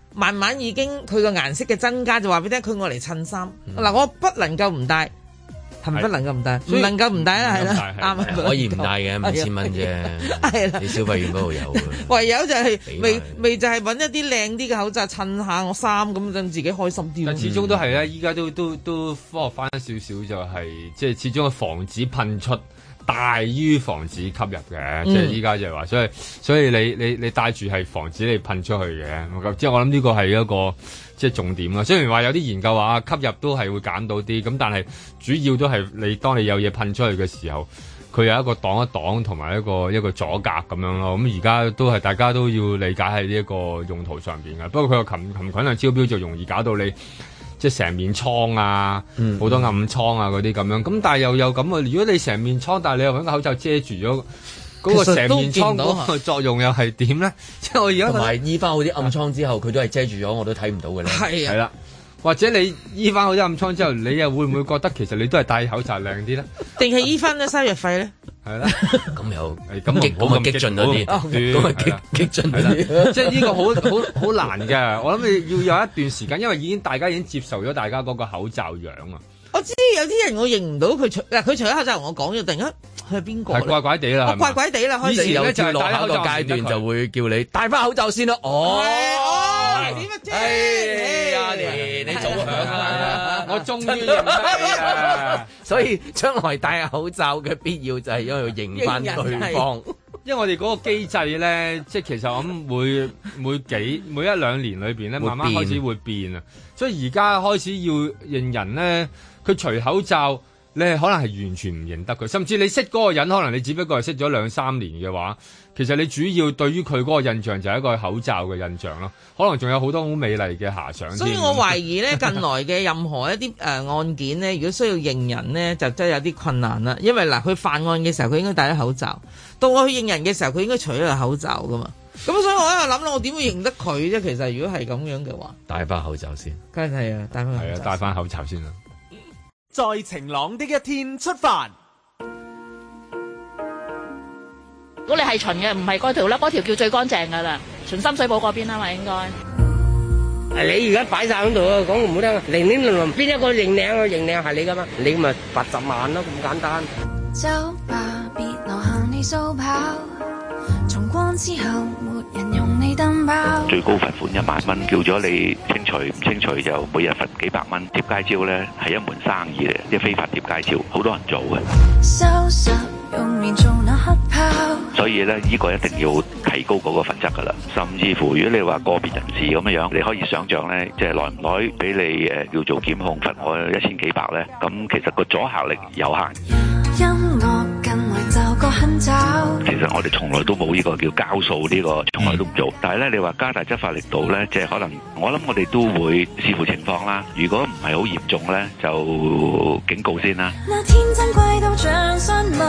D: 慢慢已經佢個顏色嘅增加，就話俾你聽，佢愛嚟襯衫。嗱，我不能夠唔戴。係咪不能夠唔戴？唔能夠唔戴啦，係啦，啱
B: 可以唔戴嘅，5000蚊啫。係啦，你消費券嗰度有。
D: 唯有就係未就係揾一啲靚啲嘅口罩襯下我衫，咁等自己開心啲。
C: 但始終都係咧，依家都科學翻少少，就係即係始終防止噴出大於防止吸入嘅。即係依家就係話，所以你戴住係防止你噴出去嘅。即係我諗呢個係一個。即係重點啦，雖然話有啲研究話吸入都係會減到啲，咁但係主要都係當你有嘢噴出去嘅時候，佢有一個擋一擋同埋一個阻隔咁樣咯。咁而家都係大家都要理解喺呢一個用途上邊嘅。不過佢個禽群量超標就容易搞到你即係成面瘡啊，好多暗瘡啊嗰啲咁樣。咁但係又有咁啊，如果你成面瘡，但係你又揾個口罩遮住咗。嗰個成面瘡嗰個作用又係點咧？即係我而家
B: 同埋醫翻好啲暗瘡之後，佢都係遮住咗，我都睇唔到嘅咧。
D: 係
C: 啦，或者你醫翻好啲暗瘡之後，你又會唔會覺得其實你都係戴口罩靚啲咧？
D: 定係醫翻咗收藥費咧？
C: 係啦，
B: 咁又咁激進咗啲，咁啊激進啲。
C: 即係呢個好難嘅。我諗你要有一段時間，因為大家已經接受咗大家嗰個口罩樣啊。
D: 我知有啲人我認唔到佢除咗口罩同我講咗，突然間佢係邊個？
C: 係怪怪地啦，
D: 怪怪地啦。
B: 以前有跳落下個階段就會叫你戴翻口罩先咯。哦，
D: 點乜啫？
B: 阿蓮，你早響啊！
C: 我終於認得你啦。
B: 所以將來戴口罩嘅必要就係因為要認翻對方。
C: 因為我哋嗰個機制咧，即係其實我諗每一兩年裏邊咧，慢慢開始會變啊。所以而家開始要認人咧，佢除口罩，你係可能係完全唔認得佢，甚至你識嗰個人，可能你只不過係識咗2-3年嘅話，其實你主要對於佢嗰個印象就係一個口罩嘅印象咯。可能仲有好多好美麗嘅遐想。
D: 所以我懷疑咧，近來嘅任何一啲案件咧，如果需要認人咧，就真係有啲困難啦。因為嗱，佢犯案嘅時候，佢應該戴咗口罩。到我去認人嘅時候，佢應該除咗個口罩噶嘛，咁所以我喺度諗啦，我點會認得佢啫？其實如果係咁樣嘅話，
B: 戴翻口罩先，
D: 梗係啊，
C: 戴翻口罩先啦。
E: 在晴朗的一天出發。
I: 如果你係巡嘅，唔係嗰條啦，嗰條叫最乾淨噶啦，巡深水埗嗰邊啊嘛，應該。
J: 你而家擺晒喺度啊，講唔好聽啊，零零零零邊一個認領啊？認領係你噶嘛？你咪罰10萬咯，咁簡單。走吧，別留下你掃跑，重光之後沒人用你燈泡。最高罰款1萬蚊，叫咗你清除唔清除就每日罰幾百蚊。貼街招咧係一門生意嚟，即係非法貼街招，好多人做嘅。收拾用面做那黑泡。所以咧，呢個一定要提高嗰個罰則噶啦。甚至乎，如果你話個別人士咁樣，你可以想象咧，即係耐唔耐俾你叫做檢控罰我1000幾百咧，咁其實個阻嚇力有限。音樂近來就個很早。其實我哋從來都冇呢個叫交數呢個，從來都唔做。但係咧，你話加大執法力度咧，即係可能我諗我哋都會視乎情況啦。如果唔係好嚴重咧，就警告先啦。那天真貴到像山脈，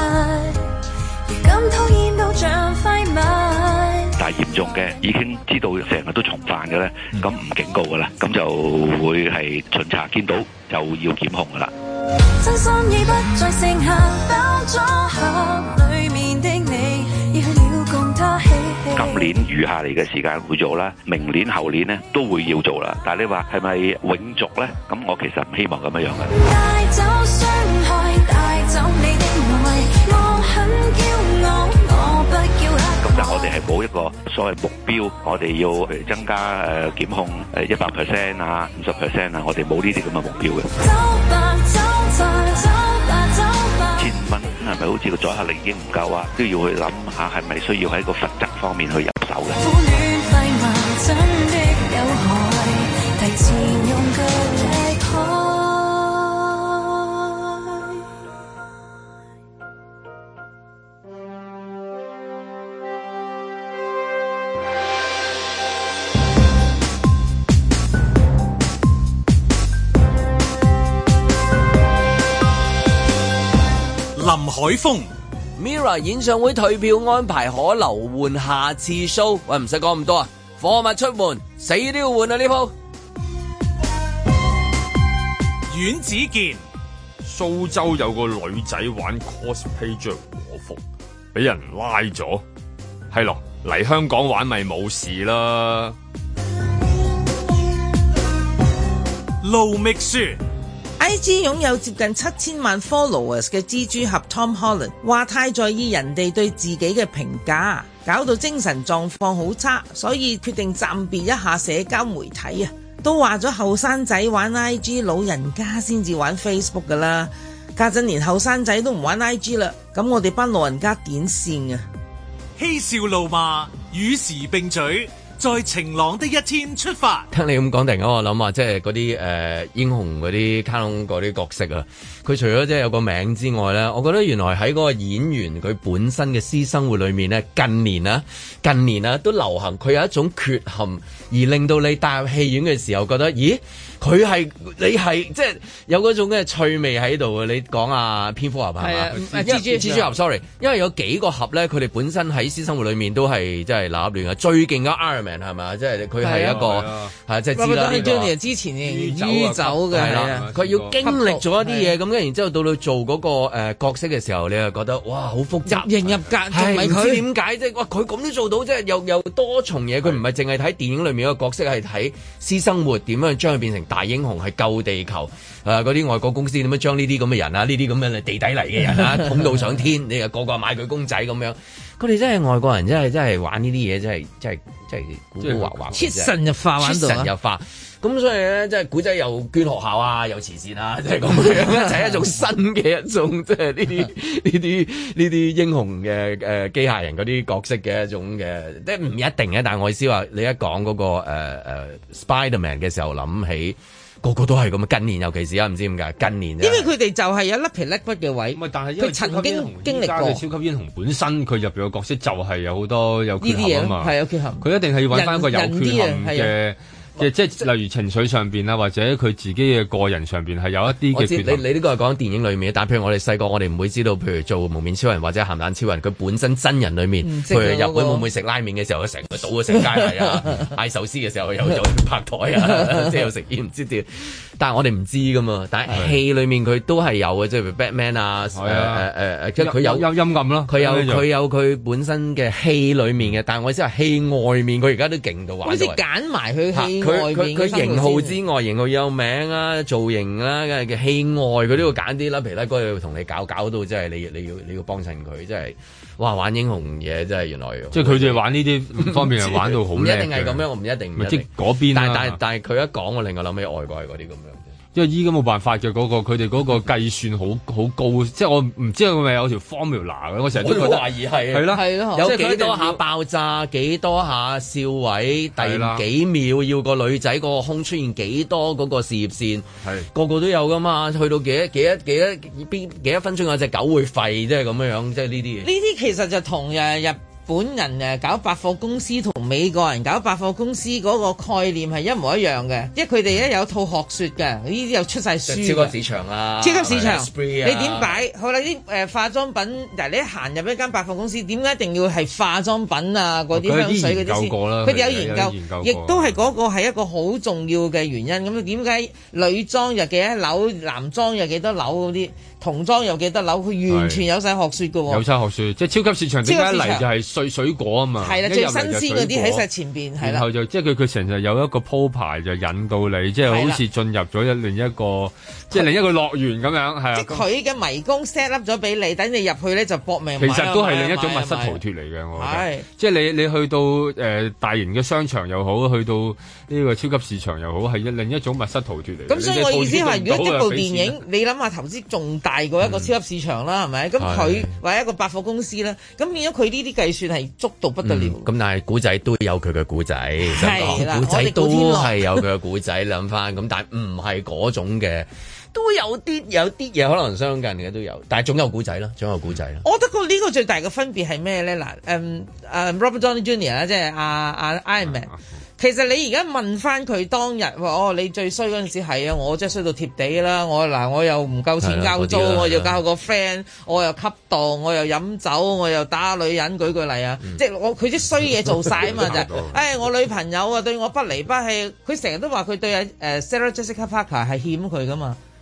J: 咁討厭到像廢物。但係嚴重嘅已經知道成日都重犯嘅咧，咁唔警告噶啦，咁就會係巡查見到就要檢控噶啦。真心已不再剩下包裝盒裡面的你，要了共他嬉戲。今年餘下嚟嘅時間會做啦，明年後年呢都會要做啦。但係你話係咪永續咧？咁我其實唔希望咁樣樣嘅。帶走傷害，帶走你的愛，我很驕傲，我不叫黑。咁但係我哋係冇一個所謂目標，我哋要譬如增加檢控100% 啊50%啊，我哋冇呢啲咁嘅目標嘅。1000蚊係咪好似個阻嚇力已經唔夠啊？都要去諗下係咪需要喺個罰則方面去入手嘅。
A: 林海峰
B: Mirror 演唱會退票安排可留換下次 show， 喂唔使講咁多啊，貨物出門死都要換啊呢鋪。
A: 阮子健，
C: 蘇州有個女仔玩 cosplay 着和服，俾人拉咗，係咯，嚟香港玩咪冇事啦。
A: 盧覓雪。
D: IG 擁有接近7000萬 followers 嘅蜘蛛俠 Tom Holland 話太在意人哋對自己嘅評價，搞到精神狀況好差，所以決定暫別一下社交媒體啊！都話咗後生仔玩 IG， 老人家先至玩 Facebook 噶啦，家陣連後生仔都唔玩 IG 啦，咁我哋班老人家點算啊？
A: 嬉笑怒罵與時並舉，在晴朗的一天出發。
B: 聽你咁講，突然間我諗啊，即係嗰啲英雄嗰啲卡通嗰啲角色啊，佢除咗即係有個名之外咧，我覺得原來喺嗰個演員佢本身嘅私生活裏面咧，近年啊都流行佢有一種缺陷，而令到你帶入戲院嘅時候覺得，咦？你係即係有嗰種嘅趣味喺度啊！你講啊，蝙蝠俠係嘛？蜘蛛俠 sorry， 因為有幾個俠咧，佢哋本身喺私生活裏面都係即係立亂嘅。最勁嘅 Iron Man 係咪？即係佢係一個係即係知啦。
D: Johnny 之前酗酒嘅係啦，
B: 佢要經歷咗一啲嘢，咁跟然之後到做嗰個角色嘅時候，你又覺得哇好複雜，
D: 入型入格，唔知
B: 點解啫？哇！佢咁都做到，即係又多重嘢。佢唔係淨係睇電影裏面個角色，係睇私生活點樣將佢變成大英雄，係救地球。嗰啲外國公司點樣將呢啲咁嘅人啊，呢啲咁嘅地底嚟嘅人啊，捧到上天，你又個個買佢公仔咁樣。佢哋真係外國人，真係玩呢啲嘢，真係古古惑惑，
D: 切神入化玩到，
B: 切神入化。咁所以咧，即係古仔又捐學校啊，又慈善啊，即係咁樣，就係一種新嘅一種，即係呢啲英雄嘅機械人嗰啲角色嘅一種嘅，即係唔一定嘅。但係我意思話，你一講嗰個Spider-Man 嘅時候，諗起個個都係咁啊！近年尤其是啊，唔知點解近年，
D: 因為佢哋就係有甩皮甩骨嘅位，
C: 但係
D: 佢曾經經歷過
C: 超級英雄本身，佢入邊嘅角色就係有好多有缺陷啊嘛，
D: 係有缺陷，
C: 佢一定係要揾翻一個有缺陷嘅。即係例如情緒上邊啊，或者佢自己嘅個人上邊係有一啲嘅缺陷。
B: 你呢個係講電影裏面，但譬如我哋細個，我哋唔會知道，譬如做蒙面超人或者鹹蛋超人，佢本身真人裏面，譬如日本會唔會食拉麵嘅時候，佢成個倒咗成街係啊，嗌壽司嘅時候又拍台啊，即係又食煙唔知點。但係我哋唔知噶嘛。但係戲裏面佢都係有嘅，即係譬如 Batman 啊，即係佢有
C: 陰暗咯。
B: 佢有佢本身嘅戲裏面嘅，但係我意思係戲外面，佢而家都勁到玩到。
D: 好似揀埋佢戲。
B: 佢型號之外，型號有名啊，造型啦嘅戲外，佢都要揀啲啦。皮拉哥要同你搞到，即係你要幫襯佢，即係哇玩英雄嘢，真係原來。
C: 即係佢哋玩呢啲方面係玩到好叻。
B: 唔一定係咁樣，我唔一定。
C: 即係嗰邊。
B: 但係佢一講，我另外諗起外國係嗰啲咁樣。
C: 因為依家冇辦法嘅佢哋嗰個計算好高，即係我唔知係咪有條 formula 嘅，我成日都覺得
B: 懷疑係
C: 係咯，
B: 有幾多下爆炸，幾多下笑位，第幾秒要個女仔個胸出現幾多嗰個事業線，個個都有噶嘛，去到幾多分鐘有隻狗會吠，即係咁樣，即係呢啲嘢。
D: 呢啲其實就同日本人搞百貨公司同美國人搞百貨公司嗰個概念係一模一樣嘅，因為佢哋咧有套學說嘅，呢啲又出晒書。
B: 超級市場啦，
D: 超級市場，你點擺？好啦，啲化妝品，嗱你一行入一間百貨公司，點解一定要係化妝品啊？嗰啲香水嗰啲先，佢哋有研究，亦都係嗰個係一個好重要嘅原因。咁點解女裝又幾多樓，男裝又幾多樓嗰啲？童裝有幾多樓？佢完全有晒學説嘅喎，
C: 有晒學説，即係超級市場點解一嚟就係水果啊嘛？
D: 係啦，最新鮮嗰啲喺晒前邊，係啦。
C: 然後就即係佢成日有一個鋪排就引到你，即係好似進入咗另一個即係另一個樂園咁樣，係啊。即係佢
D: 嘅迷宮 set up 咗俾你，等你入去咧就搏命。
C: 其實都係另一種密室逃脫嚟嘅，我覺得。即係你去到大型嘅商場又好，去到呢個超級市場又好，係另一種密室逃脫嚟。
D: 咁所以我意思係，如果一部電影，你諗下投資仲大過一個超級市場啦，係咪？咁佢或者一個百貨公司啦，咁變咗佢呢啲計算係足到不得了。
B: 咁但係古仔都有佢嘅古仔，古仔都係有佢嘅古仔。諗翻咁，但係唔係嗰種嘅，都有啲嘢可能相近嘅都有，但係總有古仔啦，總有古仔啦。
D: 我覺得呢個最大嘅分別係咩咧？嗱，Robert Downey Jr. 啦，即係阿 Iron Man。其實你而家問翻佢當日，你最衰嗰陣時係啊，我真係衰到貼地啦！我又唔夠錢交租，我又教個 friend，我又吸毒，我又飲酒，我又打女人，舉個例啊！即係佢啲衰嘢做晒啊嘛，就係我女朋友啊對我不離不棄，佢成日都話佢對Sarah Jessica Parker 係欠佢噶嘛。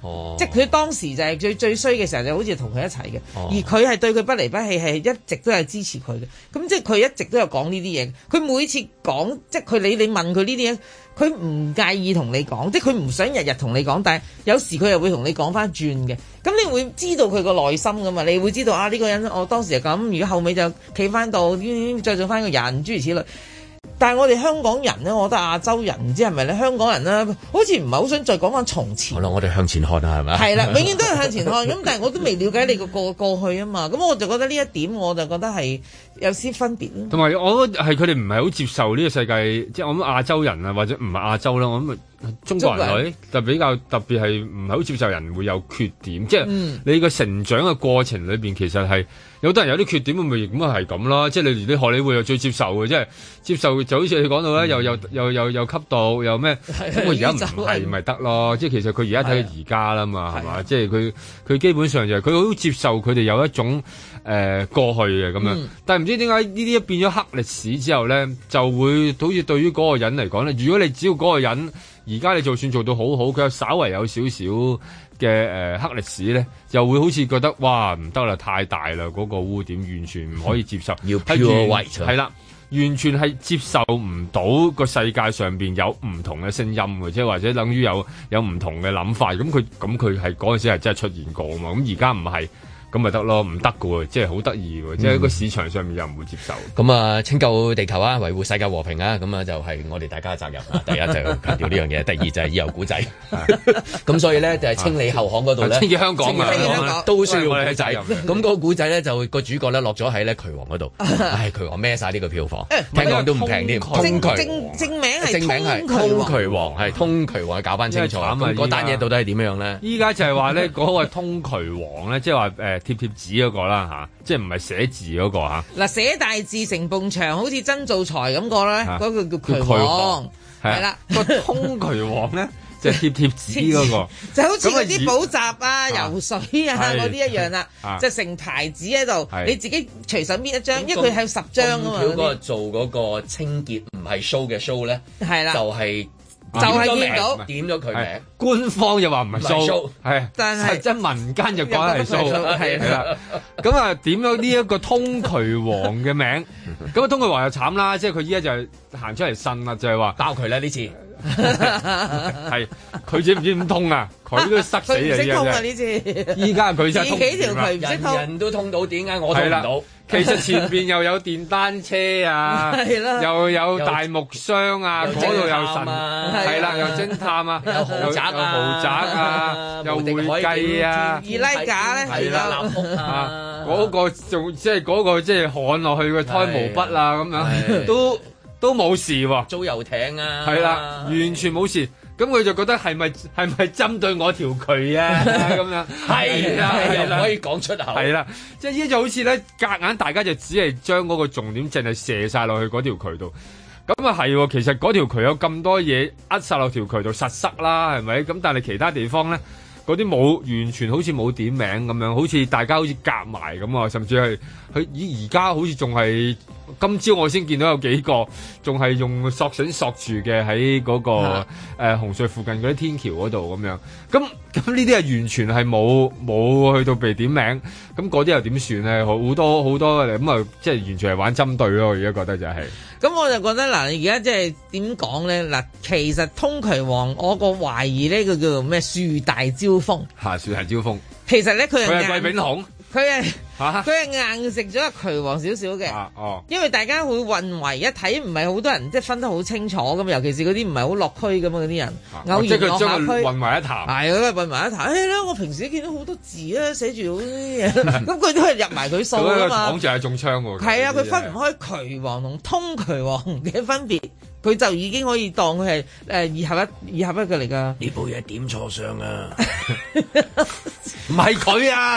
D: 即係佢當時就係最衰嘅時候，就好似同佢一齊嘅，而佢係對佢不離不棄，係一直都係支持佢嘅。咁即係佢一直都有講呢啲嘢，佢每次講，即係你問佢呢啲嘢，佢唔介意同你講，即係佢唔想日日同你講，但係有時佢又會同你講翻轉嘅。咁你會知道佢個內心噶嘛？你會知道啊呢個人我當時係咁，如果後尾就企翻到再做翻個人，諸如此類。但係我哋香港人咧，我覺得亞洲人唔知係咪咧，香港人咧好似唔係好想再講翻從前。好啦，
B: 我哋向前看啊，係咪？係啦，
D: 永遠都係向前看。咁但係我都未了解你個過去啊嘛。咁我就覺得呢一點，我就覺得係有啲分別。
C: 同埋我覺得係佢哋唔係好接受呢個世界，即係我諗亞洲人啊，或者唔係亞洲啦，我諗中國人女就比較特別係唔係好接受人會有缺點，即係你個成長嘅過程裏邊其實係。有啲人有啲缺點，咪咁啊係咁啦，即係你連啲荷里活又最接受嘅，即係接受就好似你講到咧，又吸毒又咩，咁佢而家唔係咪得咯？即係其實佢而家睇佢而家啦嘛，係嘛？即係佢基本上就係佢好接受佢哋有一種過去嘅咁樣，但係唔知點解呢啲一變咗黑歷史之後咧，就會好似對於嗰個人嚟講咧，如果你只要嗰個人而家你就算做到好好，佢稍為有少少嘅黑歷史咧，又會好似覺得哇唔得啦，太大啦，嗰個污點完全唔可以接受，
B: 要 pure white
C: 係啦，完全係接受唔到個世界上邊有唔同嘅聲音嘅，即係或者等於有唔同嘅諗法，咁佢係嗰陣時係真係出現過啊嘛，咁而家唔係。咁咪得咯，唔得嘅喎，即係好得意喎，即係個市場上面又唔會接受。
B: 咁啊，拯救地球啊，維護世界和平啊，咁啊就係我哋大家嘅責任啊。第一就係強調呢樣嘢，第二就係以後古仔。咁所以咧就係清理後巷嗰度咧，
C: 清潔香港啊，
B: 都需要我哋嘅責任。咁嗰個古仔咧就個主角咧落咗喺咧渠王嗰度，渠王孭晒呢個票房，聽講都唔平添。
D: 正名係
B: 通渠王，係通渠王，搞翻清楚。咁嗰單嘢到底係點樣咧？
C: 依家就係話咧嗰個通渠王咧，即係話貼紙嗰個啦嚇，即係唔係寫字嗰個嚇。
D: 嗱，寫大字成埲牆，好似曾造才咁個咧，嗰個叫渠王，係啦。
C: 個通渠王咧，就係貼紙嗰個，
D: 就好似嗰啲補習啊、游水啊嗰啲一樣啦，就成牌子喺度，你自己隨手搣一張，因為佢係10張啊嘛。
B: 嗰個做嗰個清潔唔係 show 嘅 show 咧，
D: 係啦，
B: 就係
D: 見到
B: 點咗佢名，
C: 官方又話唔係 show， 係，
D: 但係
C: 即係民間就講係 show， 係啦。咁啊點咗呢一個通渠王嘅名，咁啊通渠王又慘啦，即係佢依家就行出嚟呻啦，就係話
B: 爆佢啦呢次，
C: 係佢知唔知點通啊？佢都塞死啊！
D: 唔識通啊呢次，
C: 依家佢真係通
D: 幾條渠唔識通，
B: 人都通到，點解我通唔到？
C: 其實前邊又有電單車啊，又有大木箱啊，嗰度有神，係啦，有偵探啊，有豪宅啊，有會計啊，
D: 二拉架咧，
B: 係啦，立屋啊，
C: 嗰個仲即係嗰個即係焊落去嘅胎毛筆啊，咁樣都冇事喎，
B: 租遊艇啊，
C: 係啦，完全冇事。咁佢就覺得係咪針對我條渠啊咁樣？係啦，
B: 又唔可以講出口。
C: 係啦，即係依家就好似咧，夾硬大家就只係將嗰個重點淨係射晒落去嗰條渠度。咁啊係，其實嗰條渠有咁多嘢扼晒落條渠度實塞啦，係咪？咁但係其他地方咧，嗰啲冇完全好似冇點名咁樣，好似大家好似夾埋咁啊，甚至係佢而家好似仲係。今朝我先見到有幾個仲係用索繩索住嘅喺嗰個紅隧附近嗰啲天橋嗰度咁樣，咁呢啲係完全係冇去到被點名，咁嗰啲又點算咧？好多咁啊，即係完全係玩針對咯。我而家覺得就係，
D: 咁我就覺得嗱，而家即係點講咧？嗱，其實通渠王我個懷疑呢個叫做咩樹大招風
C: 嚇，樹大招風。
D: 其實咧佢係
C: 貴炳雄。
D: 佢係硬食咗渠王少少嘅，因為大家會混為一睇，唔係好多人即係分得好清楚咁，尤其是嗰啲唔係好落區咁嗰啲人，偶然落下區
C: 混為一談，
D: 係混為一談。啦，我平時見到好多字啊，寫住好啲嘢，咁佢都係入埋佢數啊嘛。
C: 講就係中槍喎。係
D: 啊，佢分唔開渠王同通渠王嘅分別，佢就已經可以當佢係二合一嘅嚟㗎。
B: 呢部嘢點錯相啊！
C: 唔係佢啊！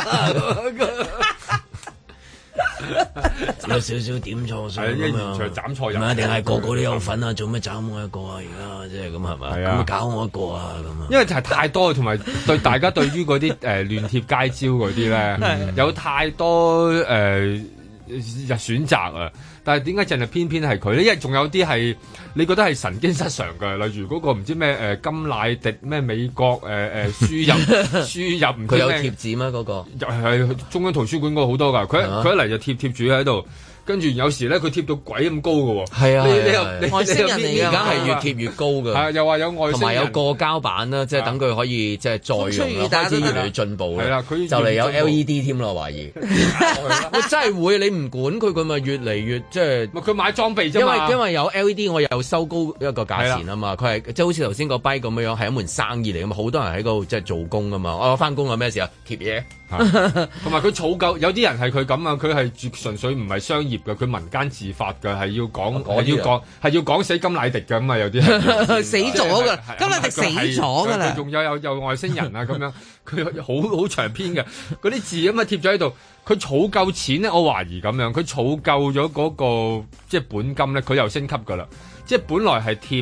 B: 有少少點錯相咁樣，
C: 斬錯人，
B: 唔係一定係個個都有份啊！做咩斬我一個啊？而家即係咁係咪？咁搞我一個啊？咁啊！
C: 因為就係太多，同埋對大家對於嗰啲亂貼街招嗰啲咧，有太多選擇啊。但係點解淨係偏偏係佢咧？因為仲有啲係你覺得係神經失常嘅，例如嗰個唔知咩金乃迪咩美國輸入唔知咩，佢有
B: 貼紙咩嗰個？
C: 係中央圖書館嗰個好多㗎，佢一嚟就貼住喺度。跟住有時咧，佢貼到鬼咁高嘅喎。
B: 係啊，
D: 外星人嚟㗎，
B: 而家係越貼越高嘅。
C: 係又話有外星人，同
B: 埋有過膠板啦，即係等佢可以即係再用啦，開始越嚟越進步嘅。係啦，佢就嚟有 LED 添咯，懷疑。真係會，你唔管佢，佢咪越嚟越即係。佢
C: 買裝備啫嘛。
B: 因為有 LED，我又收高一個價錢啊嘛。佢係即係好似頭先個 bike 咁樣，係一門生意嚟㗎嘛。好多人喺嗰度即係做工㗎嘛。我翻工有咩事啊？貼嘢。
C: 同埋佢儲夠，有啲人係佢咁啊，佢係純粹唔係商業嘅，佢民間自發嘅，係要講死金乃迪嘅咁啊，有啲
D: 死咗㗎啦，金乃迪死咗㗎啦，
C: 仲有外星人啊咁樣，佢好長篇嘅嗰啲字咁啊貼咗喺度，佢儲夠錢咧，我懷疑咁樣，佢儲夠咗嗰個即係本金咧，佢又升級㗎啦。即係本來係貼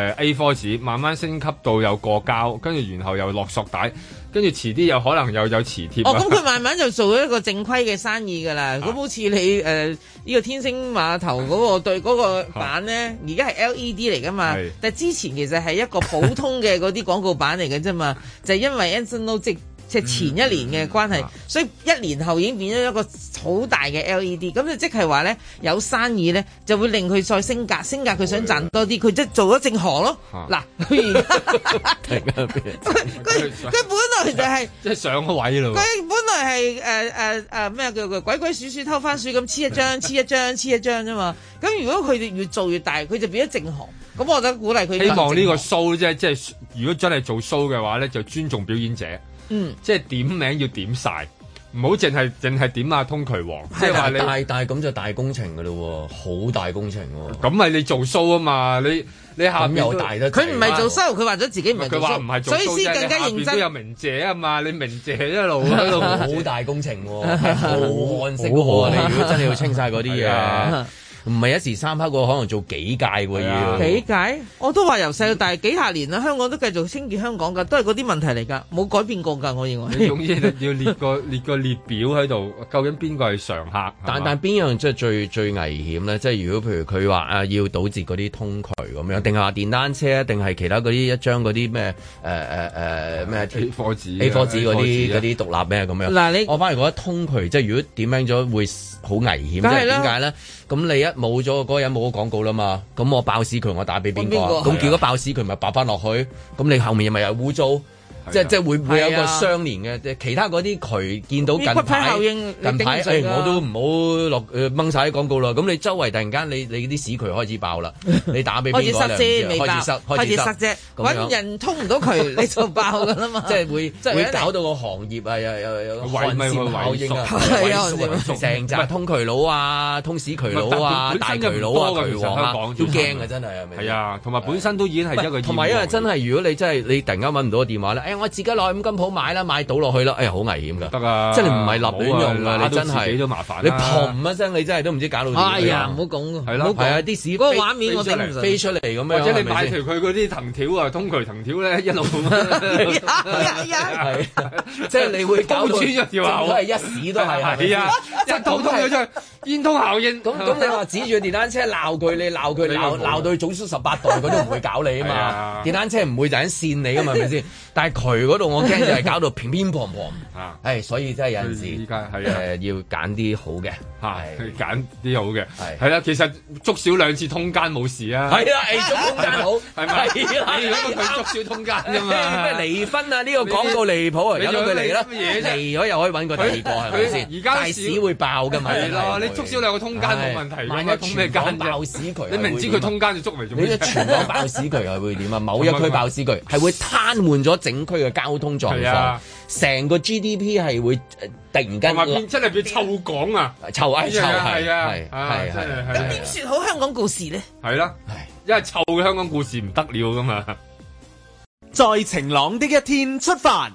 C: A4 紙，慢慢升級到有過膠，跟住然後又落索帶，跟住遲啲又可能又有磁貼。
D: 咁佢慢慢就做咗一個正規嘅生意㗎啦。咁好似你呢個天星碼頭嗰個對嗰個板咧，而家係 LED 嚟㗎嘛。但係之前其實係一個普通嘅嗰啲廣告板嚟嘅啫嘛，就係因為 Anson Lo 即係前一年嘅關係，所以一年後已經變咗一個好大嘅 LED， 咁就即係話咧有生意咧就會令佢再升格佢想賺多啲，佢即係做咗正行咯。嗱，佢而家佢本來就係
C: 即係上個位咯。
D: 佢本來係咩叫做鬼鬼祟祟偷番薯咁黐一張啫嘛。咁如果佢哋越做越大，佢就變咗正行。咁我覺得鼓勵佢。
C: 希望呢個 show 即係如果真係做 show 嘅話咧，就尊重表演者。即係點名要點晒，唔好淨係點阿通渠王。即係話你
B: 但係咁就大工程㗎咯喎，好大工程喎。
C: 咁係你做 show 啊嘛，你下面
B: 有大得。
D: 佢唔係做 show，佢話咗自己唔係做 show。
C: 佢話唔係做 show，
D: 所以先更加認真。
C: 都有鳴謝啊嘛，你鳴謝一路喺度
B: 好大工程喎，係浩瀚式喎。你如果真係要清晒嗰啲嘢。唔係一時三刻喎，可能做幾屆喎要。
D: 幾屆？我都話由細到大幾十年啦，香港都繼續清潔香港㗎，都係嗰啲問題嚟㗎，冇改變過㗎，我認為。
C: 你總之要列個列表喺度，究竟邊個係常客？
B: 但邊樣即係最危險咧？即係如果譬如佢話要堵截嗰啲通渠咁樣，定係話電單車，定係其他嗰啲一張嗰啲咩咩
C: A4 紙
B: 嗰啲獨立咩咁樣？
D: 嗱
B: 我反而覺得通渠即係如果點樣咗會好危險，即係點解咧？咁你一冇咗嗰個人冇咗廣告啦嘛，咁我爆屎渠我打俾邊個？咁結果爆屎渠咪爆翻落去，咁你後面咪有污糟。即係會有一個相連嘅，其他嗰啲渠見到近排我都唔好落掹晒啲廣告啦。咁你周圍突然間你啲屎渠開始爆啦，你打俾邊個咧？開始塞啫，
D: 揾人通唔到渠你就爆噶啦嘛。
B: 即係會搞到個行業啊，有寒蟬效應啊，成紮通渠佬啊，通屎渠佬啊，大渠佬啊，渠王啊，都驚啊真係係咪？
C: 係啊，同埋本身都已經係一個
B: 同埋因為真係如果你真係你突然間揾唔到個電話咧，我自己落去五金鋪買啦，買倒落去啦，好危險噶，
C: 得啊，
B: 即係你唔係立亂用啊，你真係
C: 自己都麻煩，
B: 你砰一聲，你真係都唔知搞到點。
D: 哎呀，唔好講，
B: 係咯，係啊，啲屎嗰
D: 個畫面我頂唔順，
B: 飛出嚟咁樣，
C: 或者你買條佢嗰啲藤條啊，通渠藤條咧一路咁
B: 係，即係你會搞穿咗條喉，都係一屎都係，
C: 係啊，一通咗出煙通效應。
B: 咁你話指住電單車鬧佢，你鬧佢鬧到佢早出18代，佢都唔會搞你啊嘛。電單車唔會就咁跣你噶嘛，係咪先？但係渠嗰度我驚就係搞到乒乒乓乓，所以真係有陣時
C: 依家
B: 要揀啲好嘅，
C: 揀啲好嘅，係啦。其實捉少2次通奸冇事啊，
B: 係啊，捉通奸好，係咪？
C: 你如果佢捉少通奸啫嘛，
B: 咩離婚啊？呢個廣告離譜啊，由佢嚟啦，離咗又可以揾個第二個係咪先？
C: 而家
B: 大屎會爆㗎嘛？
C: 係咯，你捉少2個通奸冇問題，
B: 萬一通咩奸爆屎渠，
C: 你明知佢通奸就捉嚟做咩？
B: 你全港爆屎渠係會點啊？某一區爆屎渠係會癱瘓咗整區嘅交通狀況，成個 GDP 係會突然間
C: 真係變臭港啊！
B: 臭係
C: 係啊，
B: 係
D: 咁點説好香港故事咧？
C: 係啦，因為臭嘅香港故事唔得了噶嘛。
E: 在晴朗的一天出發。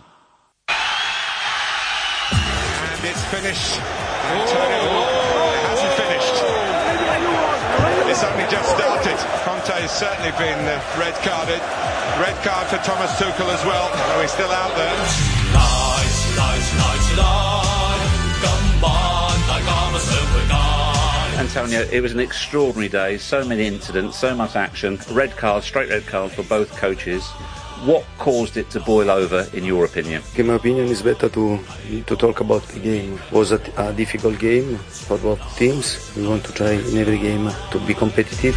K: It's only just started. Conte has certainly been red carded. Red card for Thomas Tuchel as well. So he's still out there.
L: 今晚大家不想回家。 telling you, it was an extraordinary day. So many incidents, so much action. Red card, straight red card for both coaches. What caused it to boil over, in your opinion?
M: In my opinion, it's better to talk about the game. It was a difficult game for both teams. We want to try in every game to be competitive.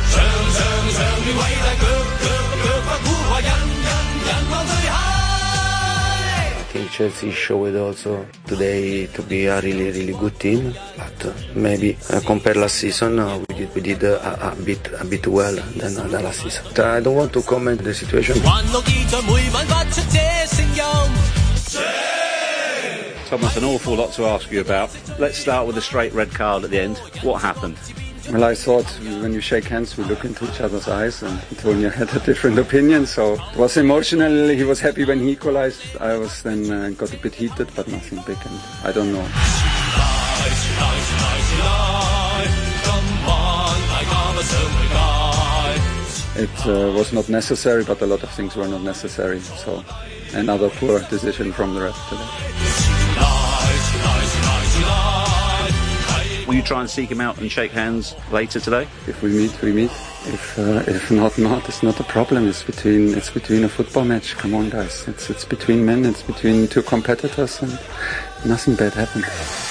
M: I think Chelsea showed also today to be a really, really good team. But maybe compared last season, we did a bit well than the last season. I don't want to comment the situation.
L: Thomas, an awful lot to ask you about. Let's start with the straight red card at the end. What happened?
N: Well, I thought when you shake hands, we look into each other's eyes, and Antonio had a different opinion, so it was emotional. He was happy when he equalized. I was then got a bit heated, but nothing big, and I don't know. It was not necessary, but a lot of things were not necessary, so another poor decision from the ref today.
L: Will you try and seek him out and shake hands later today?
N: If we meet, we meet. If not, it's not a problem. It's between a football match. Come on, guys. It's between men. It's between two competitors, and nothing bad happened.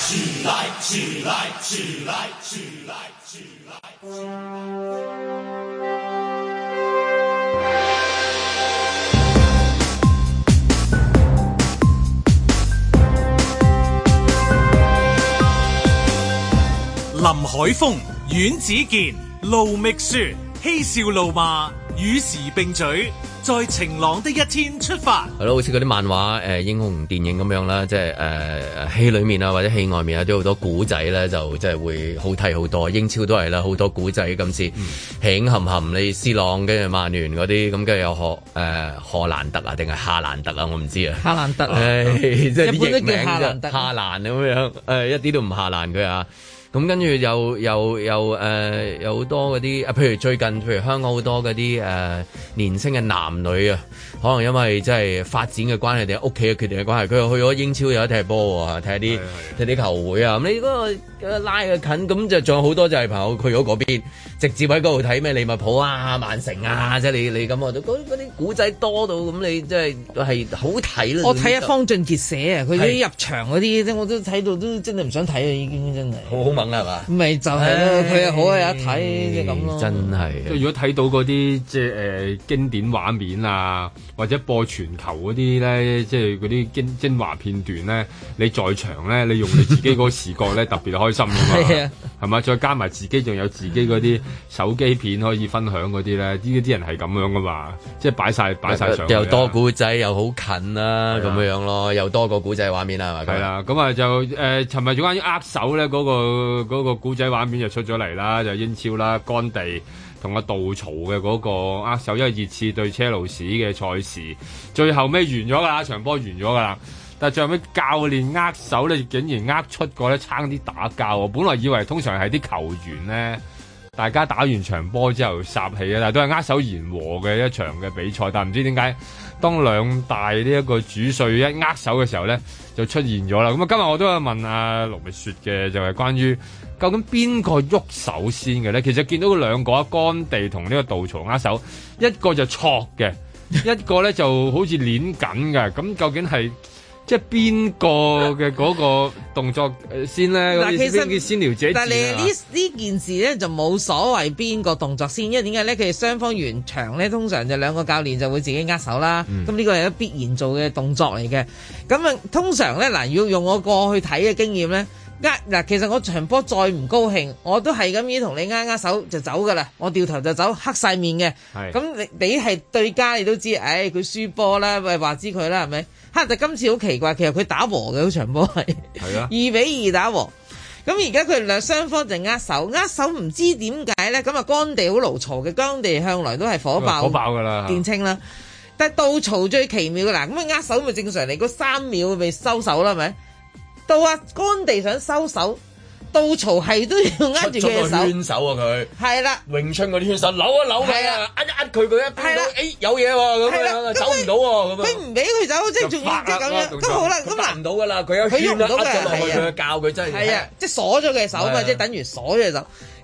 A: 林海峰、阮子健、盧覓雪，嬉笑怒罵，與時並舉，在晴朗的一天出發。
B: 係咯，好似嗰啲漫畫英雄電影咁樣啦，即係戲裏面啊或者戲外面啊都有好多古仔咧，就即係會好睇好多。英超都係啦，好多古仔今次輕含含你斯朗跟住曼聯嗰啲，咁跟住有荷蘭特啊定係夏蘭特啊，我唔知啊。夏蘭特即係啲譯名啫，夏蘭咁樣一啲都唔夏蘭佢啊。咁跟住有好多嗰啲譬如最近譬如香港好多嗰啲年輕嘅男女啊，可能因為即係發展嘅關係定係屋企嘅決定嘅關係，佢又去咗英超有得踢波喎，睇啲球會啊。咁你嗰個拉嘅近，咁就仲有好多就係朋友去咗嗰邊，直接喺嗰度睇咩利物浦啊、曼城啊，即係你咁啊，嗰啲古仔多到咁，你即係好睇啦。
D: 我睇下方俊傑寫啊，佢啲入場嗰啲，我都睇到都真係唔想睇啊，已經真係。好猛係嘛？咪就係咯，佢又好有一睇即係咁咯。真係。
C: 即係如果睇到嗰啲即係經典畫面啊，或者播全球嗰啲咧，即係嗰啲精華片段咧，你在場咧，你用你自己嗰個視覺咧，特別開心㗎嘛。係啊，係嘛？再加埋自己仲有自己嗰啲手機片可以分享嗰啲咧，啲人係咁樣噶嘛，即係擺晒上去。又
B: 多古仔，又好近啦，咁樣咯，又多個古仔畫面啦，係咪？
C: 係啦，咁啊就尋日有關於握手咧嗰個古仔畫面就出咗嚟啦，就英超啦，干地同阿杜曹嘅嗰個握手，因為熱刺對車路士嘅賽事，最後尾完咗㗎啦，場波完咗㗎啦。但係最後尾教練握手咧，竟然握出個咧，差啲打交喎。本來以為通常係啲球員咧，大家打完場波之後霎氣啊，但係都係握手言和嘅一場嘅比賽。但係唔知點解，當兩大呢一個主帥一握手嘅時候咧，就出現咗啦。咁啊，今日我都有問阿盧覓雪嘅，就係關於究竟邊個喐手先嘅咧？其實見到兩個干地同呢個杜曹握手，一個就挫嘅，一個咧就好似攣緊嘅。咁究竟係？即係邊個嘅嗰個動作先咧？嗱，其實先撩者，
D: 但係呢件事咧就冇所謂邊個動作先，因為點解咧？佢哋雙方完場咧，通常就兩個教練就會自己握手啦。咁呢個係一必然做嘅動作嚟嘅。咁啊，通常咧嗱，要用我過去睇嘅經驗咧，嗱，其實我場波再唔高興，我都係咁樣同你握手就走噶啦，我掉頭就走，黑晒面嘅。咁你係對家，你都知，佢輸波啦，喂話知佢啦，係咪？但今次好奇怪，其實佢打和嘅嗰場波係2-2打和。咁而家佢哋雙方就握手唔知點解咧？咁啊，干地好牢嘈嘅，干地向來都係火爆㗎啦，見稱啦。但係杜曹最奇妙嘅嗱，咁啊握手咪正常嚟，嗰3秒咪收手啦，係咪？到啊干地想收手。杜曹係都要握住佢嘅手，圈
B: 手啊佢，係啦，詠春嗰啲圈手扭一扭佢啊，一佢一邊到，有嘢喎咁樣，走唔到喎咁樣，
D: 佢唔俾佢走，即係仲要即係咁樣，咁好啦，咁嗱唔
B: 到噶啦，佢有圈啦，握咗落去佢教佢真係，
D: 係啊，即係鎖咗佢嘅手嘛，即係等於鎖咗隻手。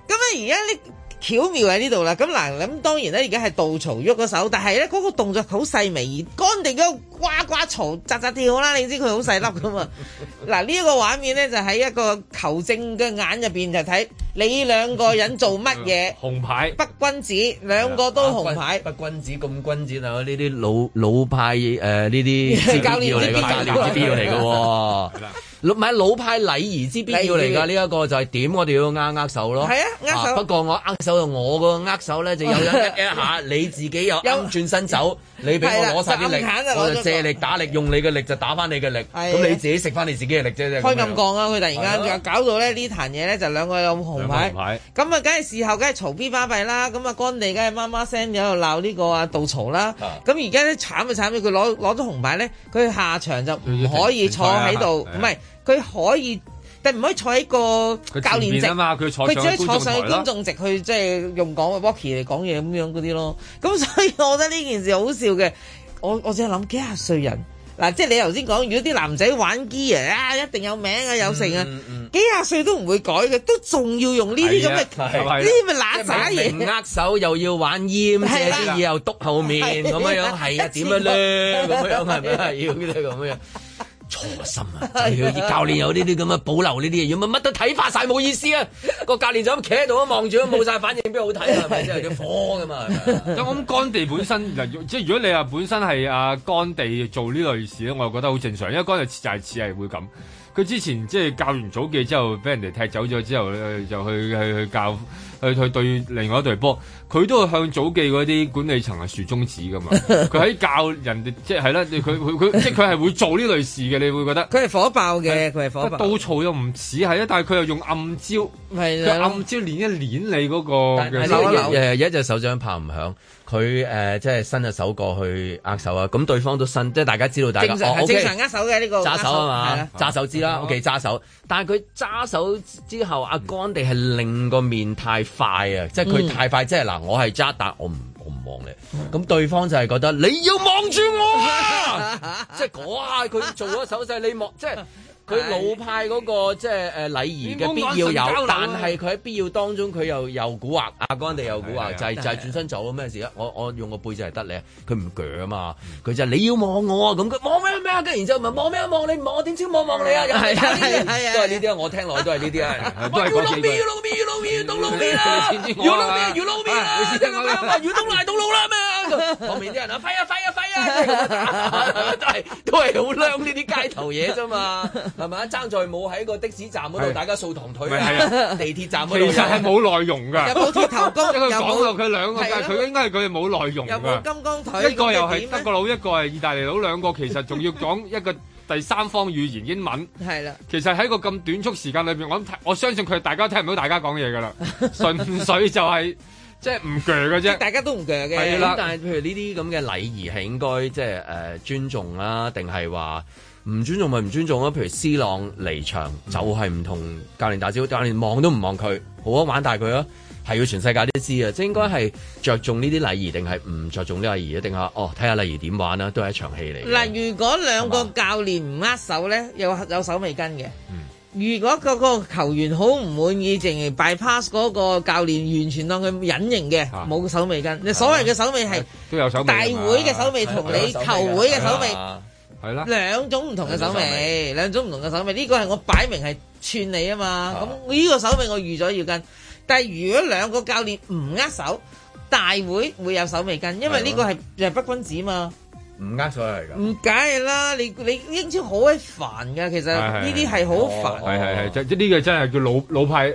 D: 咁啊而家呢？巧妙喺呢度啦，咁嗱，咁當然咧，而家係杜曹喐個手，但係咧嗰個動作好細微，而干地嗰個呱呱嘈、扎扎跳啦，你知佢好細粒噶嘛？嗱呢一個畫面咧就喺一個球證嘅眼入邊就睇你兩個人做乜嘢？
C: 紅牌，
D: 不君子，兩個都紅牌，
B: 不君子咁君子啊！呢啲老派呢啲
D: 教練
B: 嚟嘅，教練之必要嚟嘅喎。唔係老派禮儀之必要嚟㗎，呢一個就係點我哋要握手咯。係啊，握手。不過我握手我個握手咧就有一下，你自己又啱轉身走，你俾我攞晒啲力，我就借力打力，用你嘅力就打翻你嘅力。咁你自己食翻你自己嘅力啫。開咁講啊！佢突然間又搞到咧呢壇嘢咧就兩個有紅牌。咁啊，梗係事後梗係嘈 B 巴閉啦。咁啊，干地梗係媽媽聲喺度鬧呢個啊杜曹啦。咁而家咧慘就慘，佢攞咗紅牌咧，佢下場就唔可以坐喺度，唔係。佢可以，但唔可以坐喺個教練席啊嘛！佢只可以坐上去觀眾席去，即係用講 walkie 嚟講嘢咁樣嗰啲咯。咁所以我覺得呢件事好笑嘅。我只係諗幾廿歲人嗱，即係你頭先講，如果啲男仔玩機啊，一定有名啊，有成啊，幾廿歲都唔會改嘅，都仲要用呢啲咁嘅呢啲咪揦渣嘢，握手又要玩閹，借啲嘢又篤後面咁樣，係啊，點樣咧？咁樣係咪啊？要呢啲咁樣。錯心啊！教練有呢啲咁嘅保留呢啲嘢，如果乜都睇化晒冇意思啊！個教練就咁企喺度望住，冇晒反應，邊好睇啊？係咪？即係叫火㗎嘛！
C: 咁我諗干地本身即係如果你話本身係阿干地做呢類事咧，我又覺得好正常，因為干地就係似係會咁。佢之前即係教完祖記之後，俾人哋踢走咗之後就去教去對另外一隊波，佢都係向祖記嗰啲管理層係豎中指噶嘛。佢喺教人哋即係啦，佢即係佢係會做呢類事嘅，你會覺得
D: 佢係火爆嘅，佢係火爆。
C: 杜曹又唔似係啊，但係佢又用暗招，佢暗招捻一捻你嗰個
B: 一隻手掌拍唔響。佢即係伸隻手過去握手啊！咁對方都伸，即係大家知道大家
D: 正常握手嘅呢個
B: 揸手啊嘛，揸手知啦。OK， 揸手，但係佢揸手之後，阿干地係令個面太快啊！即係佢太快，即係嗱，我係揸，但我唔望你。咁對方就係覺得你要望住我啊！即係嗰下佢做咗手勢，你望即係。佢老派嗰個即係禮儀嘅必要有，但係佢喺必要當中佢又蠱惑，阿干地又蠱惑，就係轉身走咩事啊？我用個背脊嚟得你，佢唔鋸啊嘛，佢就係你要望我啊，咁佢望咩啊？跟然之後咪望咩望你唔望我點知望你啊？係都係呢啲啊！我聽落都係呢啲啊！要撈面到撈面啦！要撈面啦！要東來到路啦咩？後面啲人啊，揮啊！都係好靚呢啲街頭嘢啫嘛。係咪啊？爭在冇喺個的士站嗰度，大家掃堂腿啊！地鐵站嗰度
C: 其實係冇內容㗎，
D: 有冇鐵頭功？
C: 因為講到佢兩個，佢應該係佢哋冇內容㗎。
D: 有冇金剛腿？
C: 一個又係德國佬，一個係意大利佬，兩個其實仲要講一個第三方語言英文。係啦，其實喺個咁短促時間裏邊，我相信佢大家聽唔到大家講嘢㗎啦，純粹就係。即係唔鋸嘅啫，
D: 大家都唔鋸嘅。
B: 係啦，但係譬如呢啲咁嘅禮儀係應該即係尊重啦，定係話唔尊重咪唔尊重咯？譬如 C 朗離場就係唔同教練打招呼，教練望都唔望佢，好啊玩大佢啊，係要全世界都知啊！即係應該係着重呢啲禮儀，定係唔着重呢啲禮儀，定係睇下禮儀點玩啦，都係一場戲嚟。
D: 嗱，如果兩個教練唔握手咧，有手尾跟嘅。如果嗰個球員好唔滿意，淨係 bypass 嗰個教練，完全當佢隱形嘅，冇手尾跟。你所謂嘅手尾係
C: 都有手尾，
D: 大會嘅手尾同你球會嘅手尾
C: 係啦，
D: 兩種唔同嘅手尾，兩種唔同嘅手尾。呢個係我擺明係串你啊嘛。咁呢個手尾我預咗要跟，但係如果兩個教練唔握手，大會會有手尾跟，因為呢個係不君子嘛。
B: 唔握手嚟㗎，
D: 唔梗係啦！你英超好鬼煩㗎，其實呢啲係好煩。
C: 係，即呢個真係叫老派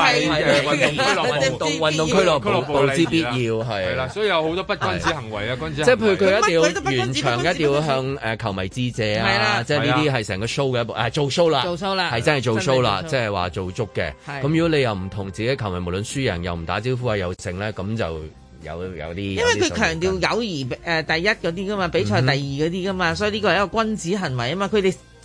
B: 運動俱樂部之必要係
C: 啦，所以有好多不君子行為啊！君子
B: 即係譬如佢一定要完場，一定要向球迷致謝啊！即係呢啲係成個 show 嘅一部做 show 啦，係真係做 show 啦，即係話做足嘅。咁如果你又唔同自己球迷，無論輸贏又唔打招呼啊，又剩咧，咁就。有啲，因
D: 為佢強調友誼第一嗰啲噶嘛，比賽第二嗰啲噶嘛，所以呢個係一個君子行為啊嘛。佢哋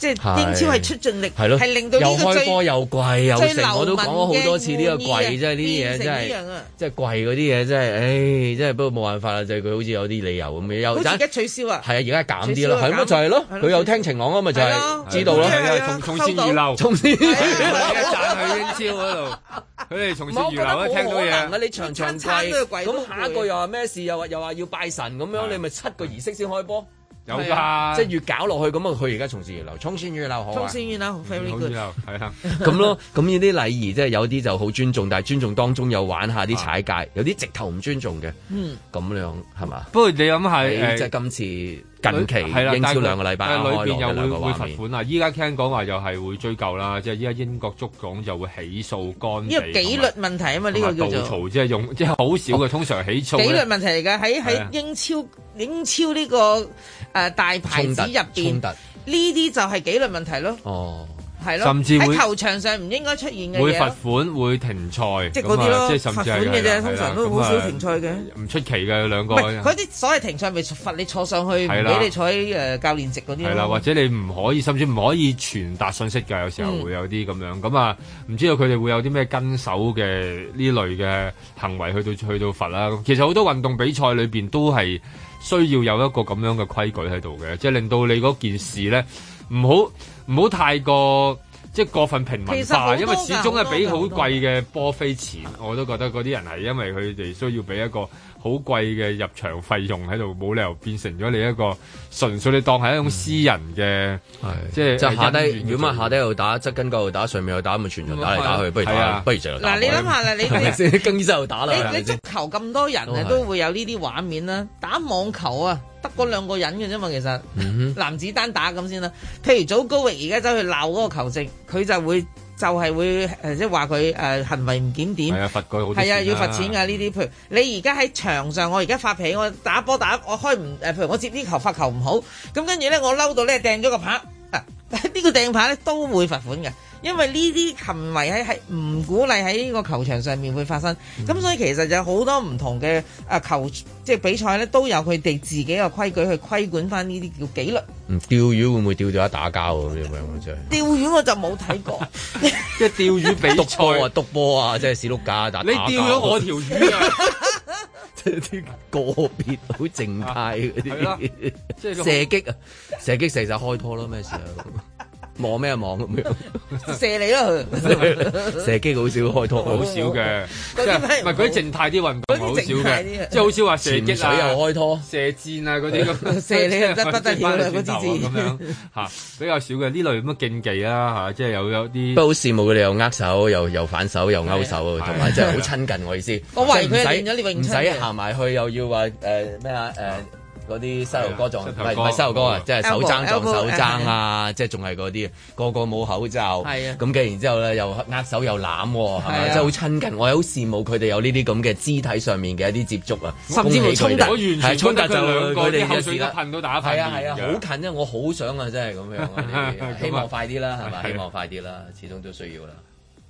D: 即係英超係出盡力，係令到呢個
B: 又開波又貴又成，我都講咗好多次呢個貴，真係呢啲嘢真係，即係貴嗰啲嘢真係，唉，真係不過冇辦法啦，就係佢好似有啲理由咁嘅，又
D: 而家取消啊，
B: 係啊，而家減啲咯，係乜就係咯，佢有聽晴朗啊嘛，就係知道咯，
C: 從善如流，從善如流，讚去英超嗰度，佢哋從善如流都聽到嘢。
B: 你場貴，咁下一個又話咩事？又話要拜神咁樣，你咪7個儀式先開波。
C: 有㗎，
B: 即係越搞落去咁啊！佢而家從善如流，從善如流好啊！
D: 從善如流 very good，
C: 係啊，
B: 咁咯，咁呢啲禮儀即係有啲就好尊重，但係尊重當中又玩下啲踩界，有啲直頭唔尊重嘅，咁樣係嘛？
C: 不過你諗下
B: 即係今次近期英超2個禮拜，
C: 裏邊又會罰款啊！依家聽講話又係會追究啦，即係依家英國足總就會起訴干地，
D: 呢個紀律問題啊嘛，呢個叫做
C: 嘈，即係好少嘅，通常起訴
D: 紀律問題嚟㗎，喺英超呢個大牌子入邊，呢啲就係紀律問題咯。哦，係咯，甚至喺球場上唔應該出現嘅嘢，
C: 會罰款，會停賽，即係嗰啲咯，即係甚至係罰款嘅啫。通常都好少停賽嘅，唔出奇嘅兩個。
D: 嗰啲所謂停賽咪罰你坐上去，唔俾你坐喺教練席嗰啲。
C: 係啦，或者你唔可以，甚至唔可以傳達信息㗎。有時候會有啲咁樣。咁啊，唔知道佢哋會有啲咩跟手嘅呢類嘅行為去到罰啦。其實好多運動比賽裏邊都係需要有一個咁樣嘅規矩喺度嘅，即係令到你嗰件事咧唔好太過即係過分平民化，因為始終係俾好貴嘅波飛錢，我都覺得嗰啲人係因為佢哋需要俾一個好貴嘅入場費用喺度，冇理由變成咗你一個純粹你當係一種私人嘅，即係下低如果咪下低又打，側跟嗰度打，上面又打，咪全場打嚟打去，不如就
D: 嗱你諗下啦，你
B: 更衣室又打啦，
D: 你足球咁多人啊，都會有呢啲畫面啦，打網球啊。得嗰2個人嘅啫嘛，其實男子單打咁先啦。譬如祖高域而家走去鬧嗰個球證，佢就係會即係話佢行為唔檢點，係啊罰佢好，係啊要罰錢㗎呢啲。譬如你而家喺場上，我而家發脾氣，我打波我開唔譬如我接啲球發球唔好，咁跟住咧我嬲到咧掟咗個拍，呢個掟拍咧都會罰款嘅。因為呢啲行為係唔鼓勵喺呢個球場上面會發生，咁所以其實就有好多唔同嘅即係比賽咧，都有佢哋自己嘅規矩去規管翻呢啲叫紀律。
B: 釣魚會唔會釣到一打交咁樣真係？
D: 釣魚我就冇睇過，
C: 即係釣魚比賽
B: 篤波啊，即係史碌架打。
C: 你釣咗我條魚啊！
B: 即係啲個別好靜態嗰啲，即係射擊啊！射擊射就開拖咯，咩事啊？望咩望咁樣
D: 射你咯，
B: 射擊好少開拖，
C: 好少嘅，即係唔係嗰啲靜態啲運動好少嘅，即係好少話射擊啊，
B: 又開拖、
C: 射箭啊嗰啲咁，
D: 射你又不得了啦嗰啲
C: 咁樣嚇，比較少嘅呢類咁嘅競技啦嚇，即係有啲。
B: 不過好羨慕佢哋又握手又反手又勾手，同埋真係好親近我意思。
D: 我懷疑佢練咗呢泳，
B: 唔使行埋去又要話咩啊嗰啲膝頭哥撞，唔係膝頭哥啊，即係手踭撞手踭啊，即係仲係嗰啲，個冇口罩，咁嘅然之後咧又握手又攬，係咪？即係好親近，我係好羨慕佢哋有呢啲咁嘅肢體上面嘅一啲接觸啊，
D: 甚至乎衝突，
C: 係衝突就
B: 佢哋嘅事啦，
C: 噴到打
B: 係啊，好近啊！我好想啊，真係咁樣，希望快啲啦，係咪？希望快啲啦，始終都需要啦。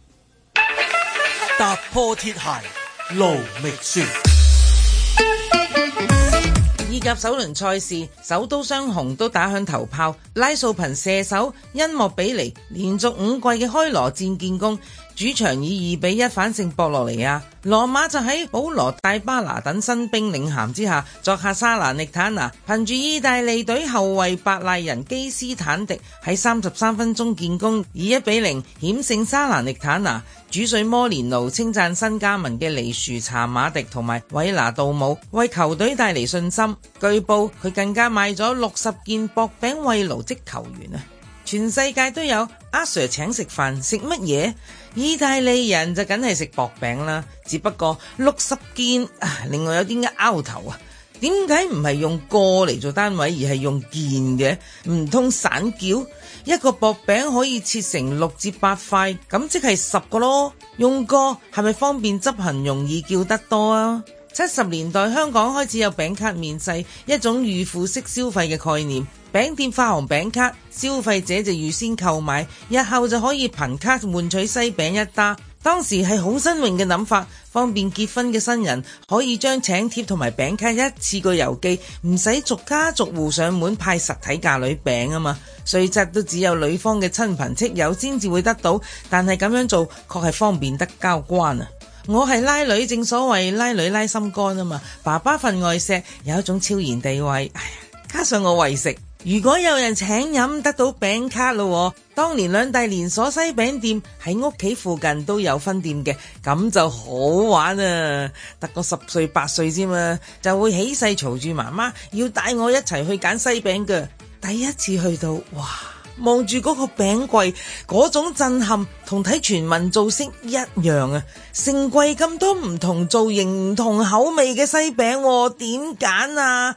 A: 踏破鐵鞋路未雪。
D: 意甲首輪賽事，首都雙雄都打響頭炮，拉素憑射手恩莫比尼連續5季嘅開羅戰建功，主場以2-1反勝博洛尼亞。羅馬就喺保羅戴巴拿等新兵領銜之下，作客沙蘭力坦拿，憑住意大利隊後衛白賴人基斯坦迪喺33分鐘建功，以1-0險勝沙蘭力坦拿。主帥摩連奴稱讚新加盟嘅尼殊查馬迪同埋韋拿杜姆，為球隊帶嚟信心。據報佢更加買咗60件薄餅慰勞職球員啊！全世界都有阿 Sir 請食飯，食乜嘢？意大利人就梗係食薄餅啦，只不過60件另外有啲拗頭啊！點解唔係用個嚟做單位，而係用件嘅？唔通散叫？一個薄餅可以切成6至8塊，咁即係10個咯。用個係咪方便執行，容易叫得多啊？70年代香港開始有餅卡面世，一種預付式消費嘅概念。餅店發行餅卡，消費者就預先購買，日後就可以憑卡換取西餅一打。當時係好新穎嘅諗法， 方便結婚嘅新人可以將請帖同埋餅卡一次過郵寄，唔使逐家逐戶上門派實體嫁女餅啊嘛。雖則都只有女方嘅親朋戚友先至會得到，但係咁樣做確係方便得交關啊！我係拉女，正所謂拉女拉心肝啊嘛，爸爸份外錫有一種超然地位，哎呀，加上我為食，如果有人請飲得到餅卡咯，當年兩大連鎖西餅店喺屋企附近都有分店嘅，咁就好玩啊！得個10歲8歲啫嘛，就會起勢嘈住媽媽要帶我一齊去揀西餅嘅。第一次去到，哇！望住嗰個餅櫃，嗰種震撼同睇全民造星一樣啊！成櫃咁多唔同造型、唔同口味嘅西餅，點揀啊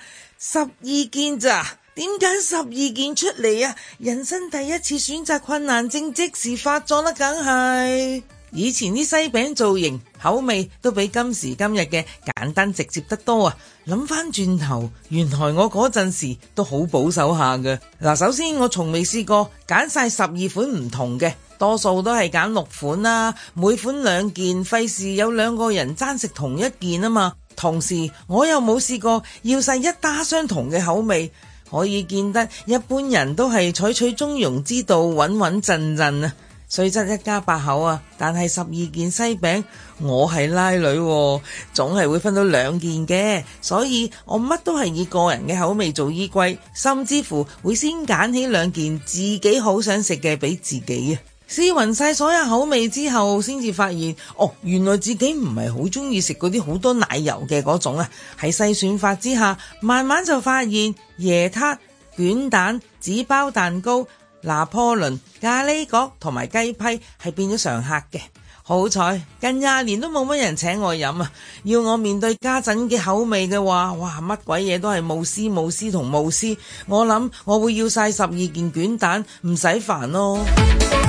D: ？12件咋？點揀12件出嚟啊？人生第一次選擇困難症即時發作啦，梗係。以前啲西餅造型口味都比今時今日嘅簡單直接得多啊！諗翻轉頭，原來我嗰陣時都好保守下嘅。嗱，首先我從未試過揀晒12款唔同嘅，多數都係揀6款啦，每款2件，費事有2個人爭食同一件啊嘛。同時我又冇試過要晒一打相同嘅口味，可以見得一般人都係採取中庸之道，穩穩陣陣啊。雖則一家8口啊，但係12件西餅，我係拉女，總係會分到2件嘅，所以我乜都係以個人嘅口味做依歸，甚至乎會先揀起2件自己好想食嘅俾自己啊。試勻晒所有口味之後，先至發現原來自己唔係好中意食嗰啲好多奶油嘅嗰種啊。喺篩選法之下，慢慢就發現椰撻、卷蛋、紙包蛋糕、拿破崙、咖喱角同埋雞批係變咗常客嘅。好彩近20年都冇乜人請我飲啊！要我面對家陣嘅口味嘅話，哇，乜鬼嘢都係慕斯同慕斯。我諗我會要晒12件卷蛋，唔使煩咯。